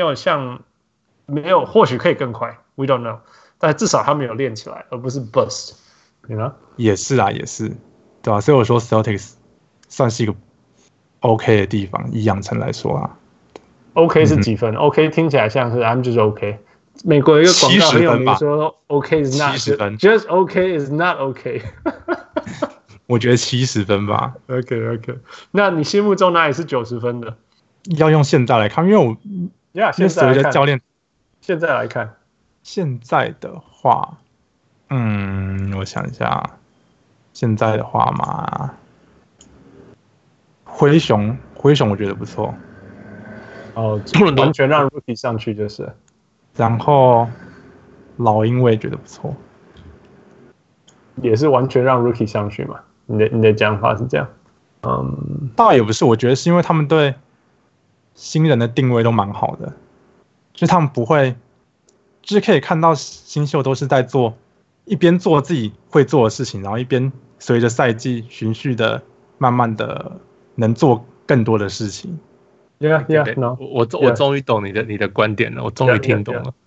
或許可以更快 ，We don't know。但至少他們有練起來，而不是 bust， you know？ 也是啊，對吧？所以我說 Celtics 算是一個 OK 的地方，以養成來說啊。 OK 是幾分？OK 聽起來像是 I'm just OK。美國有一個廣告很有名說 OK is not 70分 ，just OK is not OK。 我覺得70分吧。 OK， 那你心目中哪裡是90分的？ 要用現在來看，因為我現在來看教練， 現在來看。 現在的話，我想一下，現在的話嘛，灰熊我覺得不錯。 完全讓 Rookie 上去就是。 然後老鷹我也覺得不錯， 也是完全讓 Rookie 上去嘛？你的講法是這樣？ 倒也不是，我覺得是因為他們對新人的定位都蠻好的，就是他們不會。就是可以看到新秀都是在一邊做自己會做的事情，然後一邊隨着賽季循序的慢慢的能做更多的事情。 Yeah, 我終於懂你的觀點了，我終於聽懂了。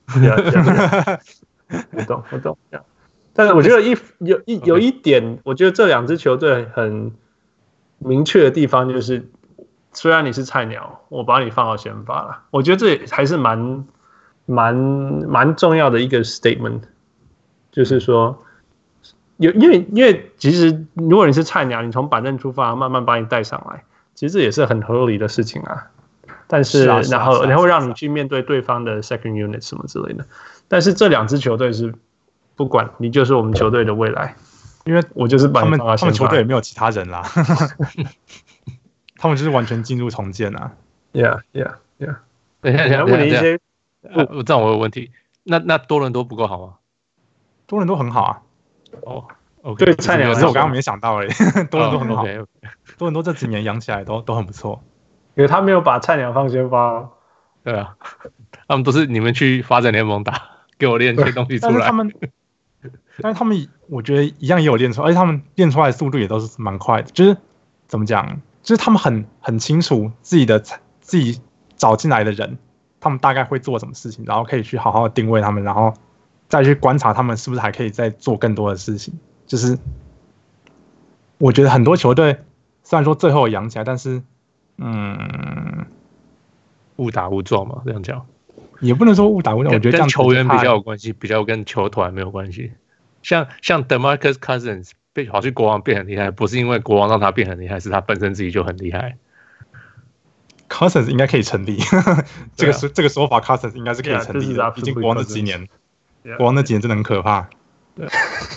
我懂。但是我覺得有一點，我覺得這兩支球隊很明確的地方就是，雖然你是菜鳥，我把你放到先發了，我覺得這也還是蠻重要的一個 statement， 就是說，因為其實如果你是菜鳥，你從板凳出發，慢慢把你帶上來，其實這也是很合理的事情啊。但是然後讓你去面對對方的 second unit 什麼之類的。但是這兩支球隊是不管你就是我們球隊的未來，因為我就是把你放到先發。 他們球隊也沒有其他人啦，他們就是完全進入重建啊。 Yeah。 等一下，問你一些。這樣我有問題，那多倫多不夠好嗎？ 多倫多很好啊。 OK， 對菜鳥是我剛剛沒想到而已。多倫多很好，多倫多這幾年養起來都很不錯。 因為他沒有把菜鳥放先發。 對啊，他們都是你們去發展聯盟打，給我練一些東西出來。 但是他們，我覺得一樣也有練出來，而且他們練出來的速度也都是蠻快的。就是怎麼講，就是他們很清楚自己找進來的人，他們大概會做什麼事情，然後可以去好好的定位他們，然後再去觀察他們是不是還可以再做更多的事情。就是我覺得很多球隊雖然說最後養起來，但是誤打誤撞嘛，這樣講也不能說誤打誤撞。我覺得這樣跟球員比較有關係，比較跟球團沒有關係。像 DeMarcus Cousins 跑去國王變很厲害，不是因為國王讓他變很厲害，是他本身自己就很厲害。 Cousins 應該可以成立，這個說法 Cousins 應該是可以成立的。畢竟國王那幾年，國王那幾年真的很可怕。對，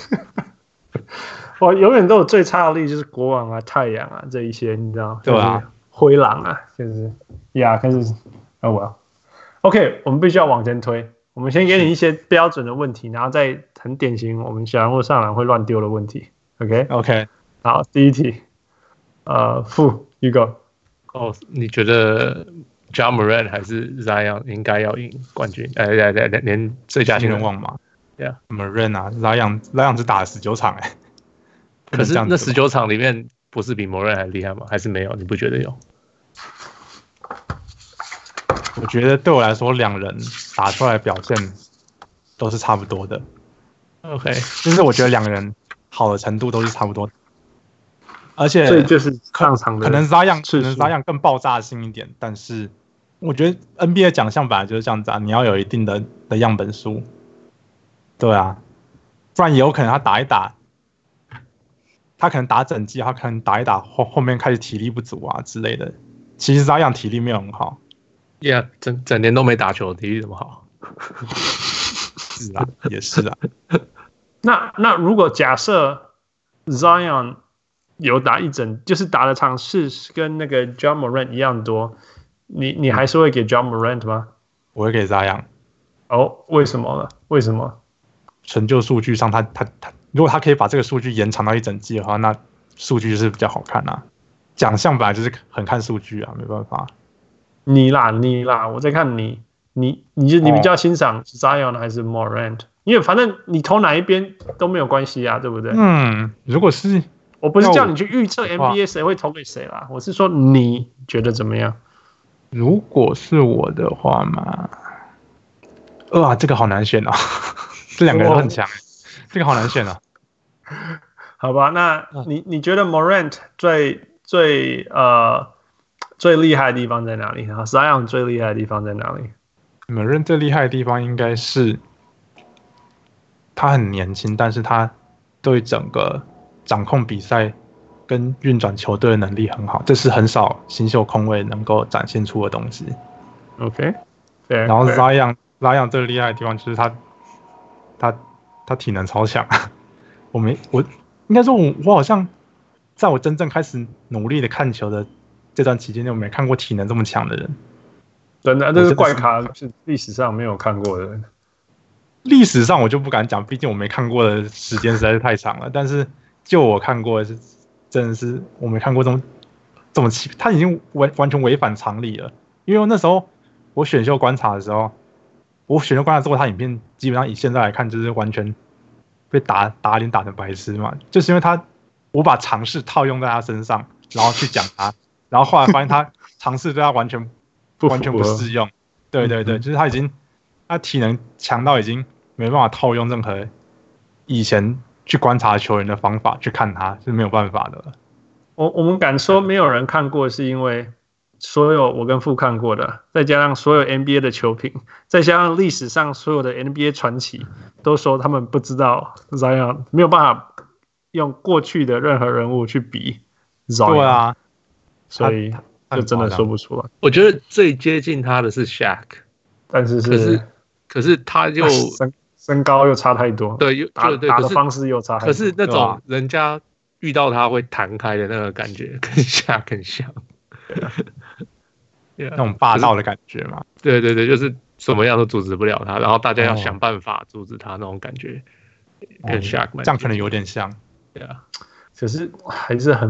我永遠都有最差的例子，就是國王啊、太陽啊這一些，你知道？ 对啊， 灰狼啊，就是可是OK， 我們必須要往前推。我們先給你一些標準的問題，然後再很典型我們小人物上籃會亂丟的問題。OK， 好，第一題，you go。 你覺得 Ja Morant 還是 Zion 應該要贏冠軍？連最佳新人王嘛 ？Morant 啊 ，Zion 只打了19場可是那19場裡面不是比 Morant 還厲害嗎？還是沒有？你不覺得有？ 我覺得對我來說，兩人打出來的表現都是差不多的。 OK， 就是我觉得两个人好的程度都是差不多的，而且所以就是上场的可能Zion更爆炸性一點，但是我覺得 NBA 獎項本來就是這樣子啊，你要有一定的樣本數，對啊，不然也有可能他打一打，他可能打整季，他可能打一打後面開始體力不足啊之類的。其實Zion體力沒有很好 ，Yeah， 整年都沒打球，體力怎麼好？ 是啊，也是啊。 那如果假設 Zion 有打就是打的場次跟那個 Ja Morant 一樣多，你還是會給 Ja Morant 嗎？ 我會給 Zion。 為什麼呢？為什麼？ 成就數據上他如果他可以把這個數據延長到一整季的話，那數據就是比較好看啊。獎項本來就是很看數據啊，沒辦法。 你啦，我在看你比較欣賞 Zion 還是 Morant？因為反正你投哪一邊都沒有關係啊，對不對？ 如果是我不是叫你去預測 NBA 誰會投給誰啦，我是說你覺得怎麼樣？ 如果是我的話嘛，這個好難選哦，這兩個人都很強，這個好難選哦。 好吧，那你覺得 Morant 最厲害的地方在哪裡？Zion 最厲害的地方在哪裡 ？Morant 最厲害的地方應該是他很年輕，但是他對整個掌控比賽跟運轉球隊的能力很好，這是很少新秀控衛能夠展現出的東西。 OK， 然後 Zion 最厲害的地方就是他體能超強。我應該說我好像在我真正開始努力的看球的這段期間內，我沒看過體能這麼強的人。 真的，這是怪咖，是歷史上沒有看過的人。 歷史上我就不敢講，畢竟我沒看過的時間實在是太長了。但是就我看過的是，真的是我沒看過這麼奇，他已經完全違反常理了。因為那時候我選秀觀察的時候，之後他影片基本上以現在來看，就是完全被打臉打成白痴嘛。就是因為我把常識套用在他身上，然後去講他，然後後來發現他常識對他完全不適用。對，就是他體能強到已經沒辦法套用任何以前去觀察球員的方法去看他，是沒有辦法的了。 我們敢說沒有人看過，是因為所有我跟傅看過的，再加上所有 NBA 的球評，再加上歷史上所有的 NBA 傳奇，都說他們不知道 Zion， 沒有辦法用過去的任何人物去比 Zion。對啊，所以就真的說不出來。 我覺得最接近他的是 Shaq， 但是可是他又身高又差太多， 對， 打的方式又差太多。 可是那種人家遇到他會彈開的那個感覺，跟Shaq很像。 那種霸道的感覺嘛。 對，就是什麼樣都阻止不了他，然後大家要想辦法阻止他那種感覺，跟 Shaq 這樣可能有點像。 對啊， 可是還是很，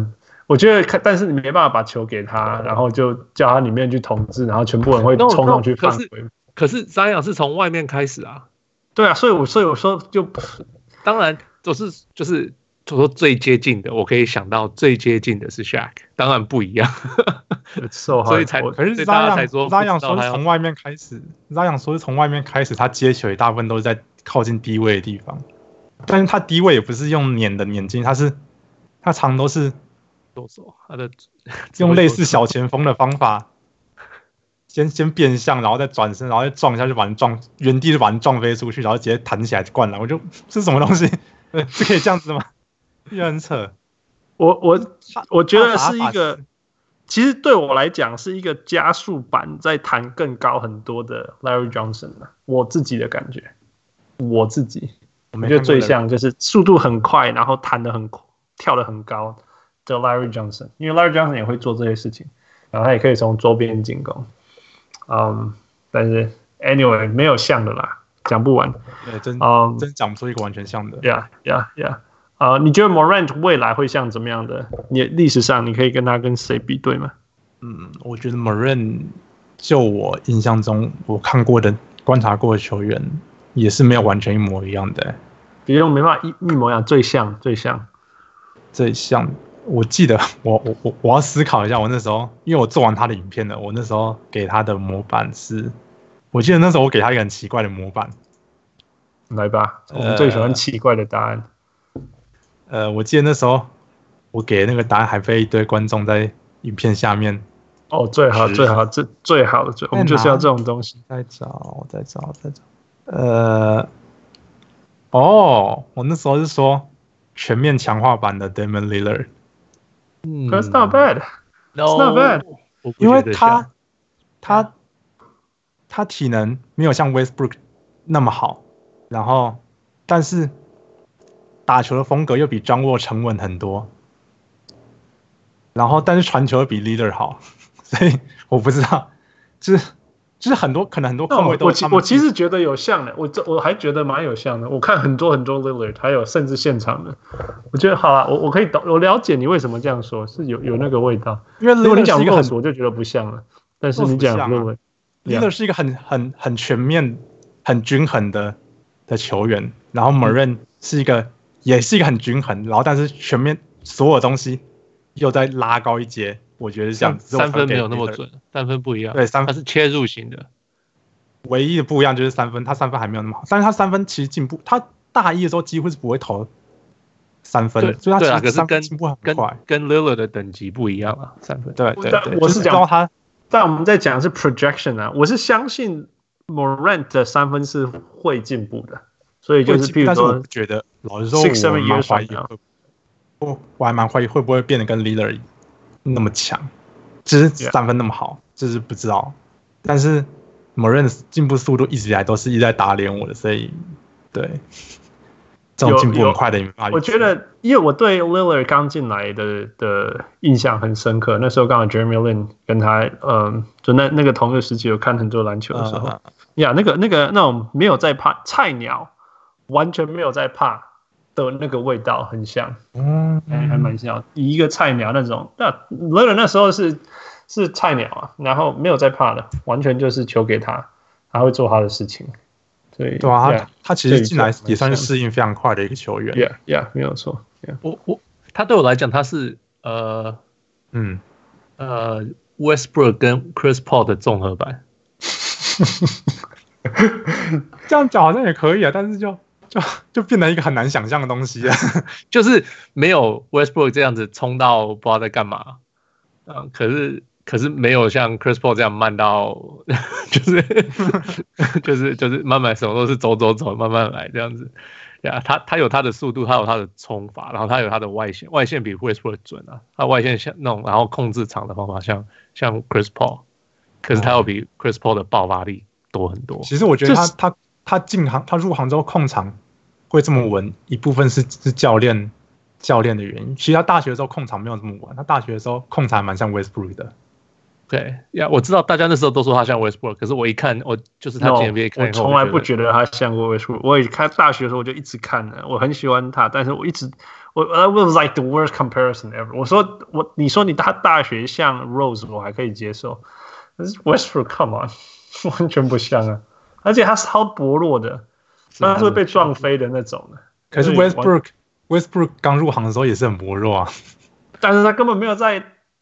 我覺得，但是你沒辦法把球給他，然後就叫他裡面去統治，然後全部人會衝上去犯規。 可是Zion是從外面開始啊。 對啊，所以我說就當然就是说最接近的，我可以想到最接近的是 Shaq， 當然不一樣。所以可是大家才说 Zion 說是從外面開始 ，Zion 說是從外面開始，他接球大部分都是在靠近低位的地方，但是他低位也不是用碾進，他常都是。他的用類似小前鋒的方法，先變向，然後再轉身，然後再撞一下，就把人撞原地就把人撞飛出去，然後直接彈起來就灌籃。我就這是什麼東西？是可以這樣子嗎？也很扯。 我覺得是一個，其實對我來講是一個加速版，再彈更高很多的 Larry Johnson 我自己的感覺，我覺得最像就是速度很快，然後跳得很高。叫 Larry Johnson， 因為 Larry Johnson 也會做這些事情，然後他也可以從周邊進攻，但是 anyway 沒有像的啦，講不完， 對，真講不出一個完全像的。 Yeah， 你覺得 Morant 未來會像怎麼樣的？你歷史上你可以跟他跟誰比對嗎？ 我覺得 Morant 就我印象中我看過的觀察過的球員，也是沒有完全一模一樣的。 別人沒辦法一模一樣，最像。 我記得我要思考一下，我那時候因為我做完他的影片了，我那時候給他的模板是，我記得那時候我給他一個很奇怪的模板， 來吧，我們最喜歡奇怪的答案。 我記得那時候我給的那個答案還被一堆觀眾在影片下面。 最好，這最好的，我們就是要這種東西。 再找。我那時候是說全面強化版的 Damian Lillard。That's not bad. It's not bad. 因為他體能沒有像 Westbrook 那麼好，然後但是打球的風格又比 John Wall 沉穩很多，然後但是傳球又比 Lillard 好，所以我不知道，就是很多可能很多控衛都我其實覺得有像的，我還覺得蠻有像的。我看很多 Lillard， 還有甚至現場的，我覺得好了，我可以懂，我了解你為什麼這樣說，是有那個味道。 因為如果你講 Rose， 我就覺得不像了。但是你講 Lillard 是一個很全面、很均衡的球員，然後 Morant 也是一個很均衡，然後但是全面所有東西又再拉高一階。我覺得是這樣子， 三分沒有那麼準，三分不一樣。 對， 它是切入型的， 唯一的不一樣就是三分，他三分還沒有那麼好，但是他三分其實進步，他大一的時候幾乎是不會投三分的，所以他其實三分進步很快， 跟 Lillard 的等級不一樣啊，三分。 对， 我是講他，但我們在講是 projection 啊，我是相信 Morant 的三分是會進步的，所以就是譬如說， 但是我不覺得，老實說，我還蠻懷疑會不會變得跟 Lillard那麼強，就是三分那麼好，就是不知道。但是 Morant 進步速度一直以來都是一直在打臉我的，所以對這種進步很快的， 我覺得，因為我對 Lillard 剛進來的印象很深刻。那時候剛好 Jeremy Lin 跟他，就那個同一個時期有看很多籃球的時候，那種沒有在怕菜鳥，完全沒有在怕的那個味道很像，還蠻像。以一個菜鳥那種，那 Lillard 那時候是菜鳥啊，然後沒有在怕的，完全就是球給他，他會做他的事情。對啊，他其實進來也算是適應非常快的一個球員。 Yeah， 沒有錯。 他對我來講，他是Westbrook 跟 Chris Paul 的綜合版。 這樣講好像也可以啊，但是就變成一個很難想象的東西啊， 就是沒有 Westbrook 這樣子衝到不知道在幹嘛，可是沒有像 Chris Paul 這樣慢到，就是慢慢什麼都是走，慢慢來這樣子。呀，他有他的速度，他有他的衝法，然後他有他的外線比 Westbrook 準啊，他外線像那種然後控制場的方法像 Chris Paul， 可是他有比 Chris Paul 的爆發力多很多。 其實我覺得他入行之後控場會這麼穩，一部分是教練的原因。其實他大學的時候控場沒有這麼穩，他大學的時候控場還蠻像 Westbrook 的。 對呀，我知道大家那時候都說他像 Westbrook， 可是我一看，我就是他 NBA 看以後， 我從來不覺得他像過 Westbrook。我看大學的時候我就一直看了，我很喜歡他，但是我 That was like the worst comparison ever. 你说他大學像 Rose 我還可以接受，但是 Westbrook come on 完全不像啊，而且他是超薄弱的，他是會被撞飛的那種的。 可是 Westbrook 剛入行的時候也是很薄弱啊， 但是他根本沒有在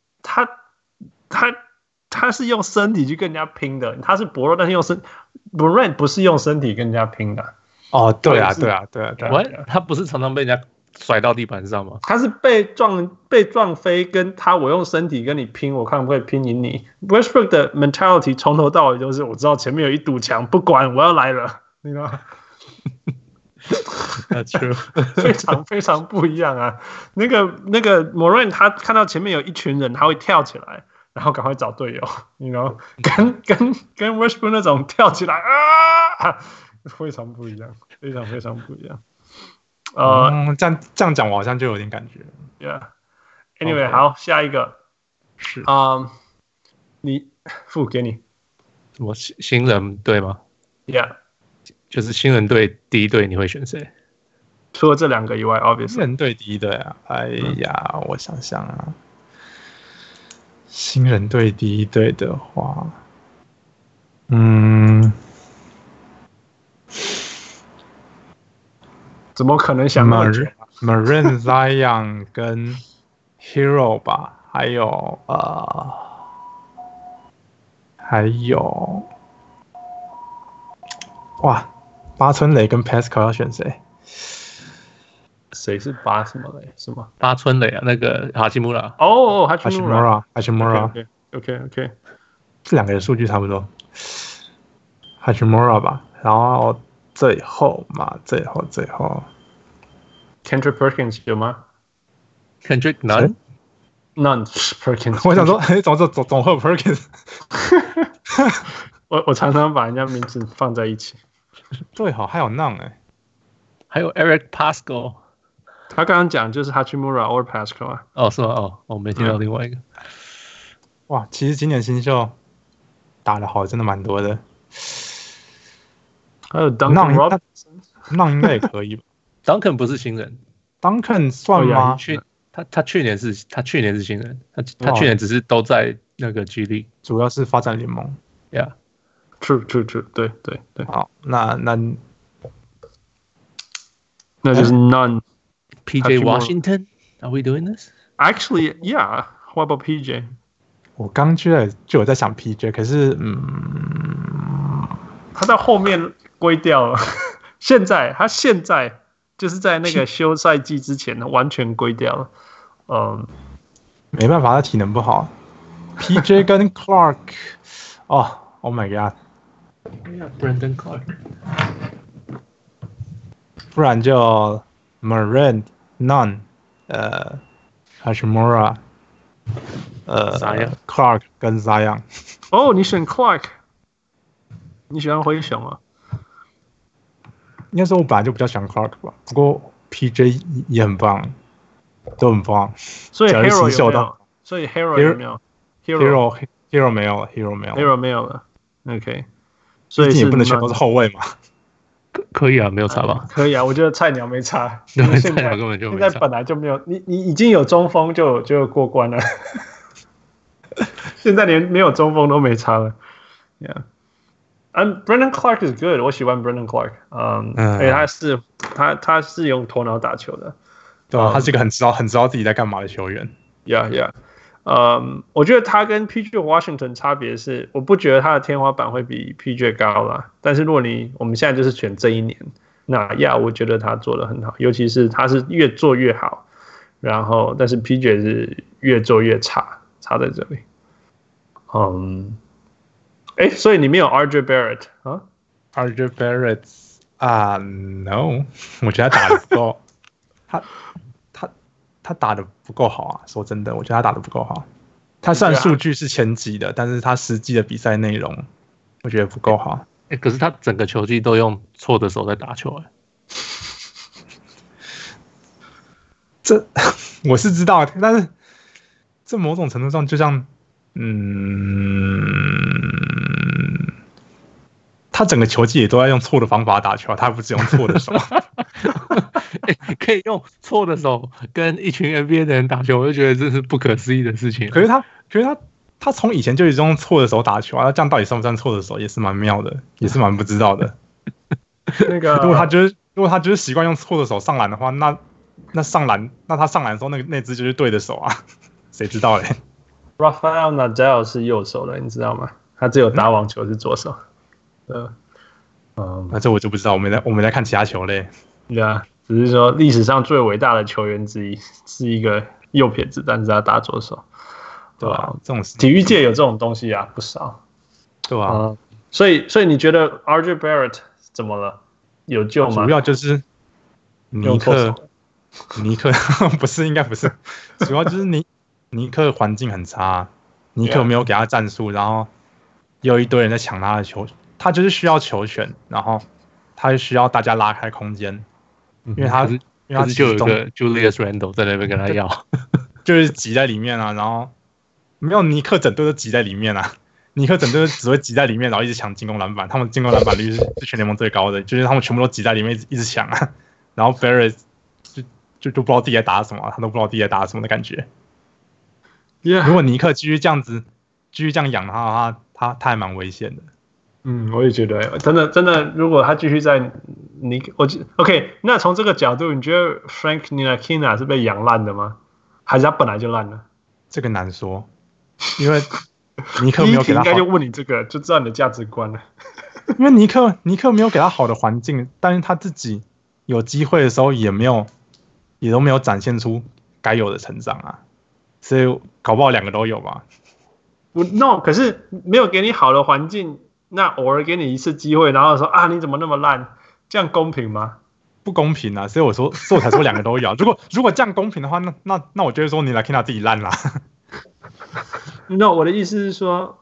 他是用身體去跟人家拼的，他是薄弱，但是用Morant 不是用身體跟人家拼的。 哦，对啊， 他不是常常被人家甩到地板上嗎？ 他是被撞飛，跟我用身體跟你拼，我看不會拼贏你。Westbrook 的 mentality 從頭到尾就是我知道前面有一堵牆，不管我要來了，你知道嗎 ？That's true 非常非常不一樣啊！那個 Morant 他看到前面有一群人，他會跳起來，然後趕快找隊友，你 know 跟 Westbrook 那種跳起來啊，非常不一樣，非常非常不一樣。 這樣講我好像就有點感覺。 Yeah。Anyway， 好，下一個是你付給你什麼新人隊嗎 ？Yeah。 就是新人隊第一隊，你會選誰？ 除了這兩個以外 ，obviously。 新人隊第一隊啊！哎呀，我想想啊，新人隊第一隊的話， 怎麼可能想到 Morant Zion 跟 Hero 吧？還有哇！八村壘跟 Pascal 要選誰？ 誰是八什麼壘？什麼？ 八村壘啊，那個哈基穆拉。 哦，哈基穆拉。OK。 這兩個人數據差不多。哈基穆拉吧，然後最後 Kendrick Perkins 有嗎 ？Kendrick None Perkins。 我想說，總會有 Perkins。 我常常把人家名字放在一起。 對，好，還有 None 還有 Eric Pascal。 他剛剛講就是 Hachimura or Pascal 啊。 哦，是嗎？哦，我沒聽到另外一個。 哇，其實今年新秀打得好，真的蠻多的。 還有 Duncan Robinson， 應該也可以吧。 Duncan 不是新人 ，Duncan 算嗎？ 他去年是新人，他去年只是都在那個 G League， 主要是發展聯盟。 Yeah。True， 對。 好，那就是 None。 PJ Washington， Are we doing this? Actually, yeah. What about PJ? 我剛就有在想 PJ， 可是他到後面歸掉了。他現在就是在那個休賽季之前完全歸掉了。 沒辦法，他體能不好。PJ 跟 Clark， Oh my God。Brandon Clark。 不然就 Morant、Nunn、Hachimura、Clark 跟 Zion。 哦，你選 Clark， 你喜歡灰熊啊？ 應該說我本來就比較喜歡 Clark 吧，不過 PJ 也很棒，都很棒。 所以 Hero 有沒有？所以 Hero 有沒有 ？Hero 沒有了 ，Hero 沒有了。OK， 所以你也不能選都是後衛嘛。 可以啊，沒有差吧？ 可以啊，我覺得菜鳥沒差。 菜鳥根本就沒差。 現在本來就沒有，你已經有中鋒就過關了。現在連沒有中鋒都沒差了。Yeah，and Brandon Clark is good， 我喜歡 Brandon Clark。而且他是用頭腦打球的， 對吧？他是一個很知道自己在幹嘛的球員。 Yeah。我覺得他跟 PJ Washington 差別是，我不覺得他的天花板會比 PJ 高啦。但是如果我們現在就是選這一年，那我覺得他做得很好，尤其是他是越做越好，然後但是 PJ 是越做越差在這裡。所以你沒有 RJ Barrett 啊 ？RJ Barrett no， 我覺得他打得不夠，他打得不夠好啊！說真的，我覺得他打得不夠好。他雖然數據是前幾的，但是他實際的比賽內容，我覺得不夠好。 可是他整個球季都用錯的手在打球這我是知道，但是這某種程度上就像，他整個球季也都在用錯的方法打球，他不是用錯的手。 可以用錯的手跟一群 NBA 的人打球，我就覺得這是不可思議的事情。 可是他從以前就一直用錯的手打球啊，這樣到底算不算錯的手，也是蠻妙的，也是蠻不知道的。 那個， 如果他就是習慣用錯的手上籃的話，那上籃，那他上籃的時候那隻就是對的手啊，誰知道嘞 ？Rafael Nadal 是右手的，你知道嗎？他只有打網球是左手。 那這我就不知道，我們來看其他球類。 對啊，只是說歷史上最偉大的球員之一是一個右撇子，但是他打左手。对吧？ 這種體育界有這種東西啊，不少。 對吧？ 所以你覺得 RJ Barrett 怎麼了？有救嗎？ 主要就是尼克不是，應該不是，主要就是尼克環境很差，尼克沒有給他戰術，然後有一堆人在搶他的球，他就是需要球權，然後他就需要大家拉開空間，因為他就有一個 Julius Randle 在那邊跟他要， 就是擠在裡面啊，然後沒有尼克整隊都擠在裡面啊。尼克整隊只會擠在裡面，然後一直搶進攻籃板。他們進攻籃板率是全聯盟最高的，就是他們全部都擠在裡面一直搶啊。然後 Barrett 就不知道自己在打什麼，他都不知道自己在打什麼的感覺。如果尼克繼續這樣養的話，他還蠻危險的。 我也覺得，真的，如果他繼續在OK， 那從這個角度，你覺得 Frank Ntilikina 是被養爛的嗎？還是他本來就爛了？ 這個難說，因為尼克沒有給他好， 應該就問你這個，就知道你的價值觀了。 因為尼克沒有給他好的環境，但是他自己有機會的時候也都沒有展現出該有的成長啊，所以搞不好兩個都有吧。 No， 可是沒有給你好的環境，那偶爾給你一次機會，然後說啊你怎麼那麼爛，這樣公平嗎？ 不公平啊！所以我才說兩個都有。如果這樣公平的話，那我就會說你來看他自己爛啦。 No， 我的意思是說，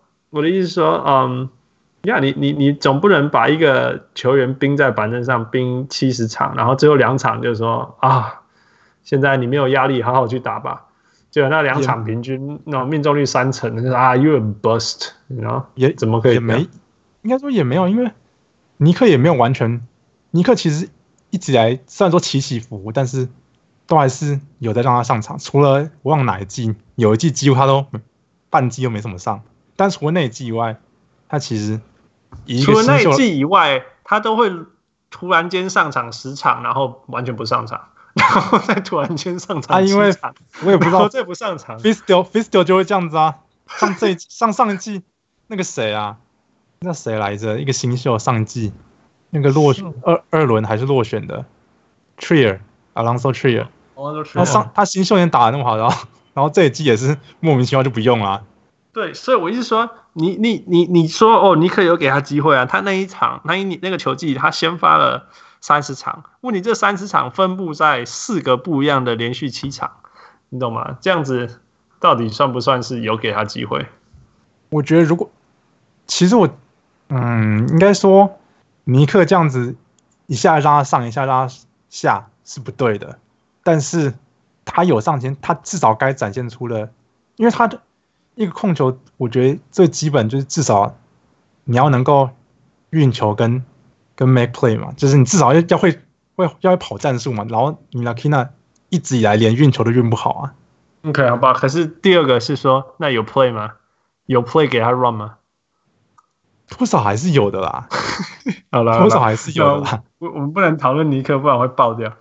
你總不能把一個球員冰在板凳上冰70場，然後最後2場就說啊，現在你沒有壓力，好好去打吧。結果那2場平均那命中率3成，就是啊 ，you a bust， 然後也怎麼可以？ 應該說也沒有，因為尼克也沒有完全，尼克其實一直以來雖然說起起伏伏，但是都還是有在讓他上場，除了我忘哪一季，有一季幾乎他都半季都沒怎麼上，但除了那一季以外，他其實除了那一季以外，他都會突然間上場10場，然後完全不上場，然後再突然間上場10場， 因為我也不知道再不上場 ，Fizdale 就會這樣子啊，上一季那個誰啊，那誰來着？一個新秀上一季那個二輪還是落選的 Alonzo Trier， 他新秀年打得那麼好，然後這一季也是莫名其妙就不用了啊。 對，所以我一直說，你說哦，尼克有給他機會啊，他那一場那個球季他先發了30場，問題這30場分布在4個不一樣的連續7場，你懂嗎？這樣子到底算不算是有給他機會？ 我覺得其實應該說尼克這樣子一下讓他上，一下讓他下是不對的，但是他有上前，他至少該展現出了，因為他的一個控球，我覺得最基本就是至少你要能夠運球跟 make play 嘛，就是你至少要會跑戰術嘛，然後你 Ntilikina 一直以來連運球都運不好啊。 OK， 好吧，可是第二個是說，那有 play 嗎？有 play 給他 run 嗎？ 多少還是有的啦。 好了， 多少還是有的啦。 我們不能討論尼克，不然會爆掉。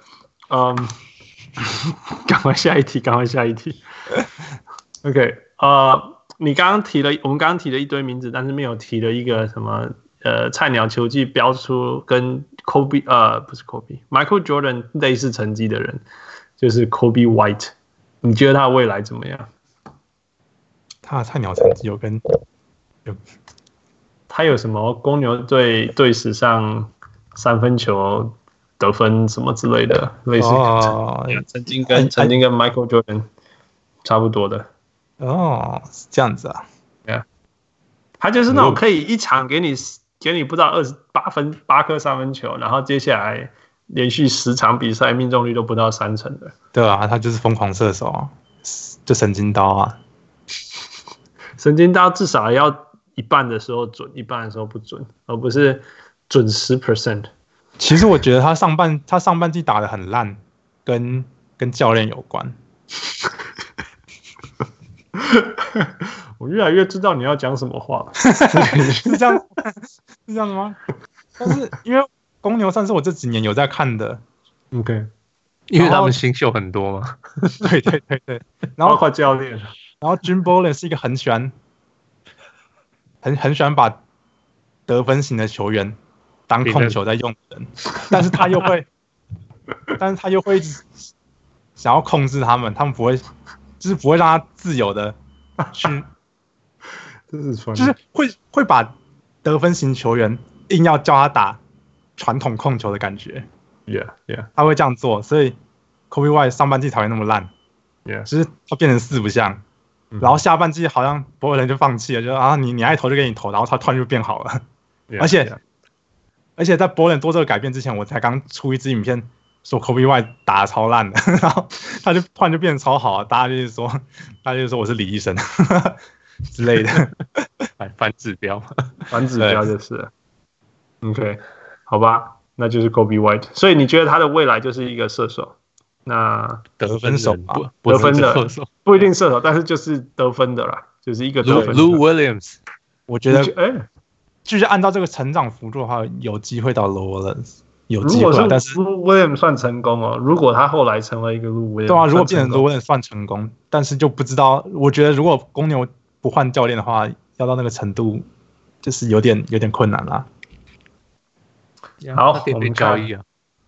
趕快下一題。OK， 你剛剛我們刚剛提了一堆名字，但是沒有提了一個什麼菜鳥球技標出跟 Michael Jordan 類似成績的人，就是 Kobe White。你覺得他的未來怎麼樣？ 他的菜鳥成績他有什麼公牛隊史上3分球得分什麼之類的，類似曾經跟 Michael Jordan 差不多的。 是這樣子啊。 Yeah. 他就是那種可以一場給你不到8顆3分球，然後接下來連續10場比賽命中率都不到3成的。 對啊，他就是瘋狂射手啊，就神經刀啊。 神經刀至少要一半的時候準，一半的時候不準，而不是準10%。 其實我覺得他上半季打得很爛，跟教練有關。 我越来越知道你要講什麼話了。 是這樣的嗎？但是因為公牛算是我這幾年有在看的 ，OK， 因為他們新秀很多嘛。 對，然後包括教練， 然後 Jim Boylen 是一個很喜歡把得分型的球員當控球在用的人，但是他又會一直想要控制他們不會，就是不會讓他自由的去，就是會把得分型球員硬要叫他打傳統控球的感覺 ，Yeah， 他會這樣做，所以 Kobe White 上半季才會那麼爛 ，Yeah， 就是他變成四不像，然後下半季好像博爾人就放棄了，就啊你愛投就給你投，然後他突然就變好了， yeah, 而且在博爾人做這個改變之前，我才剛出一支影片說 Kobe White 打得超爛的，然後他就突然就變得超好了，大家就是說我是李醫生之類的， 反指標就是了 ，OK， 好吧，那就是 Kobe White， 所以你覺得他的未来就是一個射手，那得分手吧， 得分的不一定射手，但是就是得分的啦，就是一個得分的。 Lou Williams， 我覺得，就是按照這個成長幅度的話，有機會到 Lou Williams， 有機會，但是 Lou Williams 算成功哦。如果他後來成為一個 Lou Williams， 對啊，如果變成 Lou Williams 算成功，但是就不知道，我覺得如果公牛不換教練的話，要到那個程度，就是有點困難啦。 好，我們交易啊。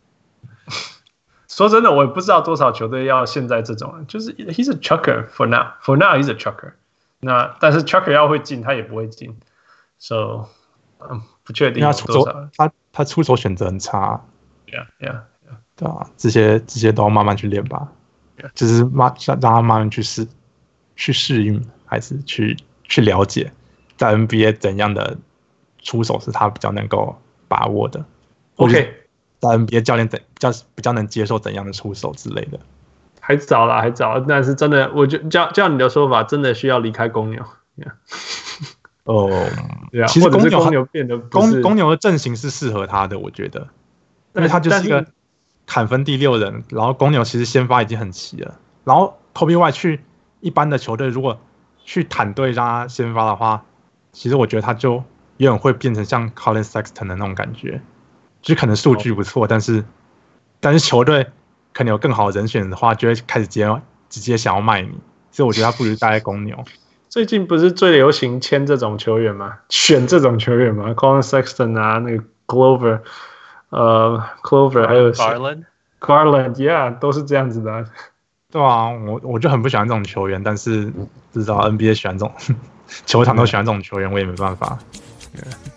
說真的，我也不知道多少球隊要現在這種人，就是 he's a chucker for now he's a chucker。那但是 chucker 要會進，他也不會進 ，so 不確定有多少。 他出手選擇很差。 Yeah， 對啊，這些都要慢慢去練吧。就是讓他慢慢去適應，還是去了解，在 NBA 怎樣的出手是他比較能夠把握的。 OK。 在 NBA 教練比較能接受怎樣的出手之類的， 還早啦，但是真的，我觉得照你的說法，真的需要離開公牛。 其實公牛變得公牛的陣型是適合他的，我覺得，因為他就是一個砍分第6人，然後公牛其實先發已經很齊了，然後 Kobe White 去一般的球隊，如果去坦隊讓他先發的話，其實我覺得他就有點會變成像 Collin Sexton 的那種感覺。就可能數據不錯，但是球隊可能有更好的人選的話，就會開始直接想要賣你，所以我覺得他不如待在公牛。 最近不是最流行簽這種球員嗎？選這種球員嗎 ？Collin Sexton 啊，那個 Glover 還有 Garland， 都是這樣子的、啊。 對啊，我就很不喜歡這種球員，但是不知道 NBA 喜歡這種球場都喜歡這種球員，我也沒辦法。Yeah.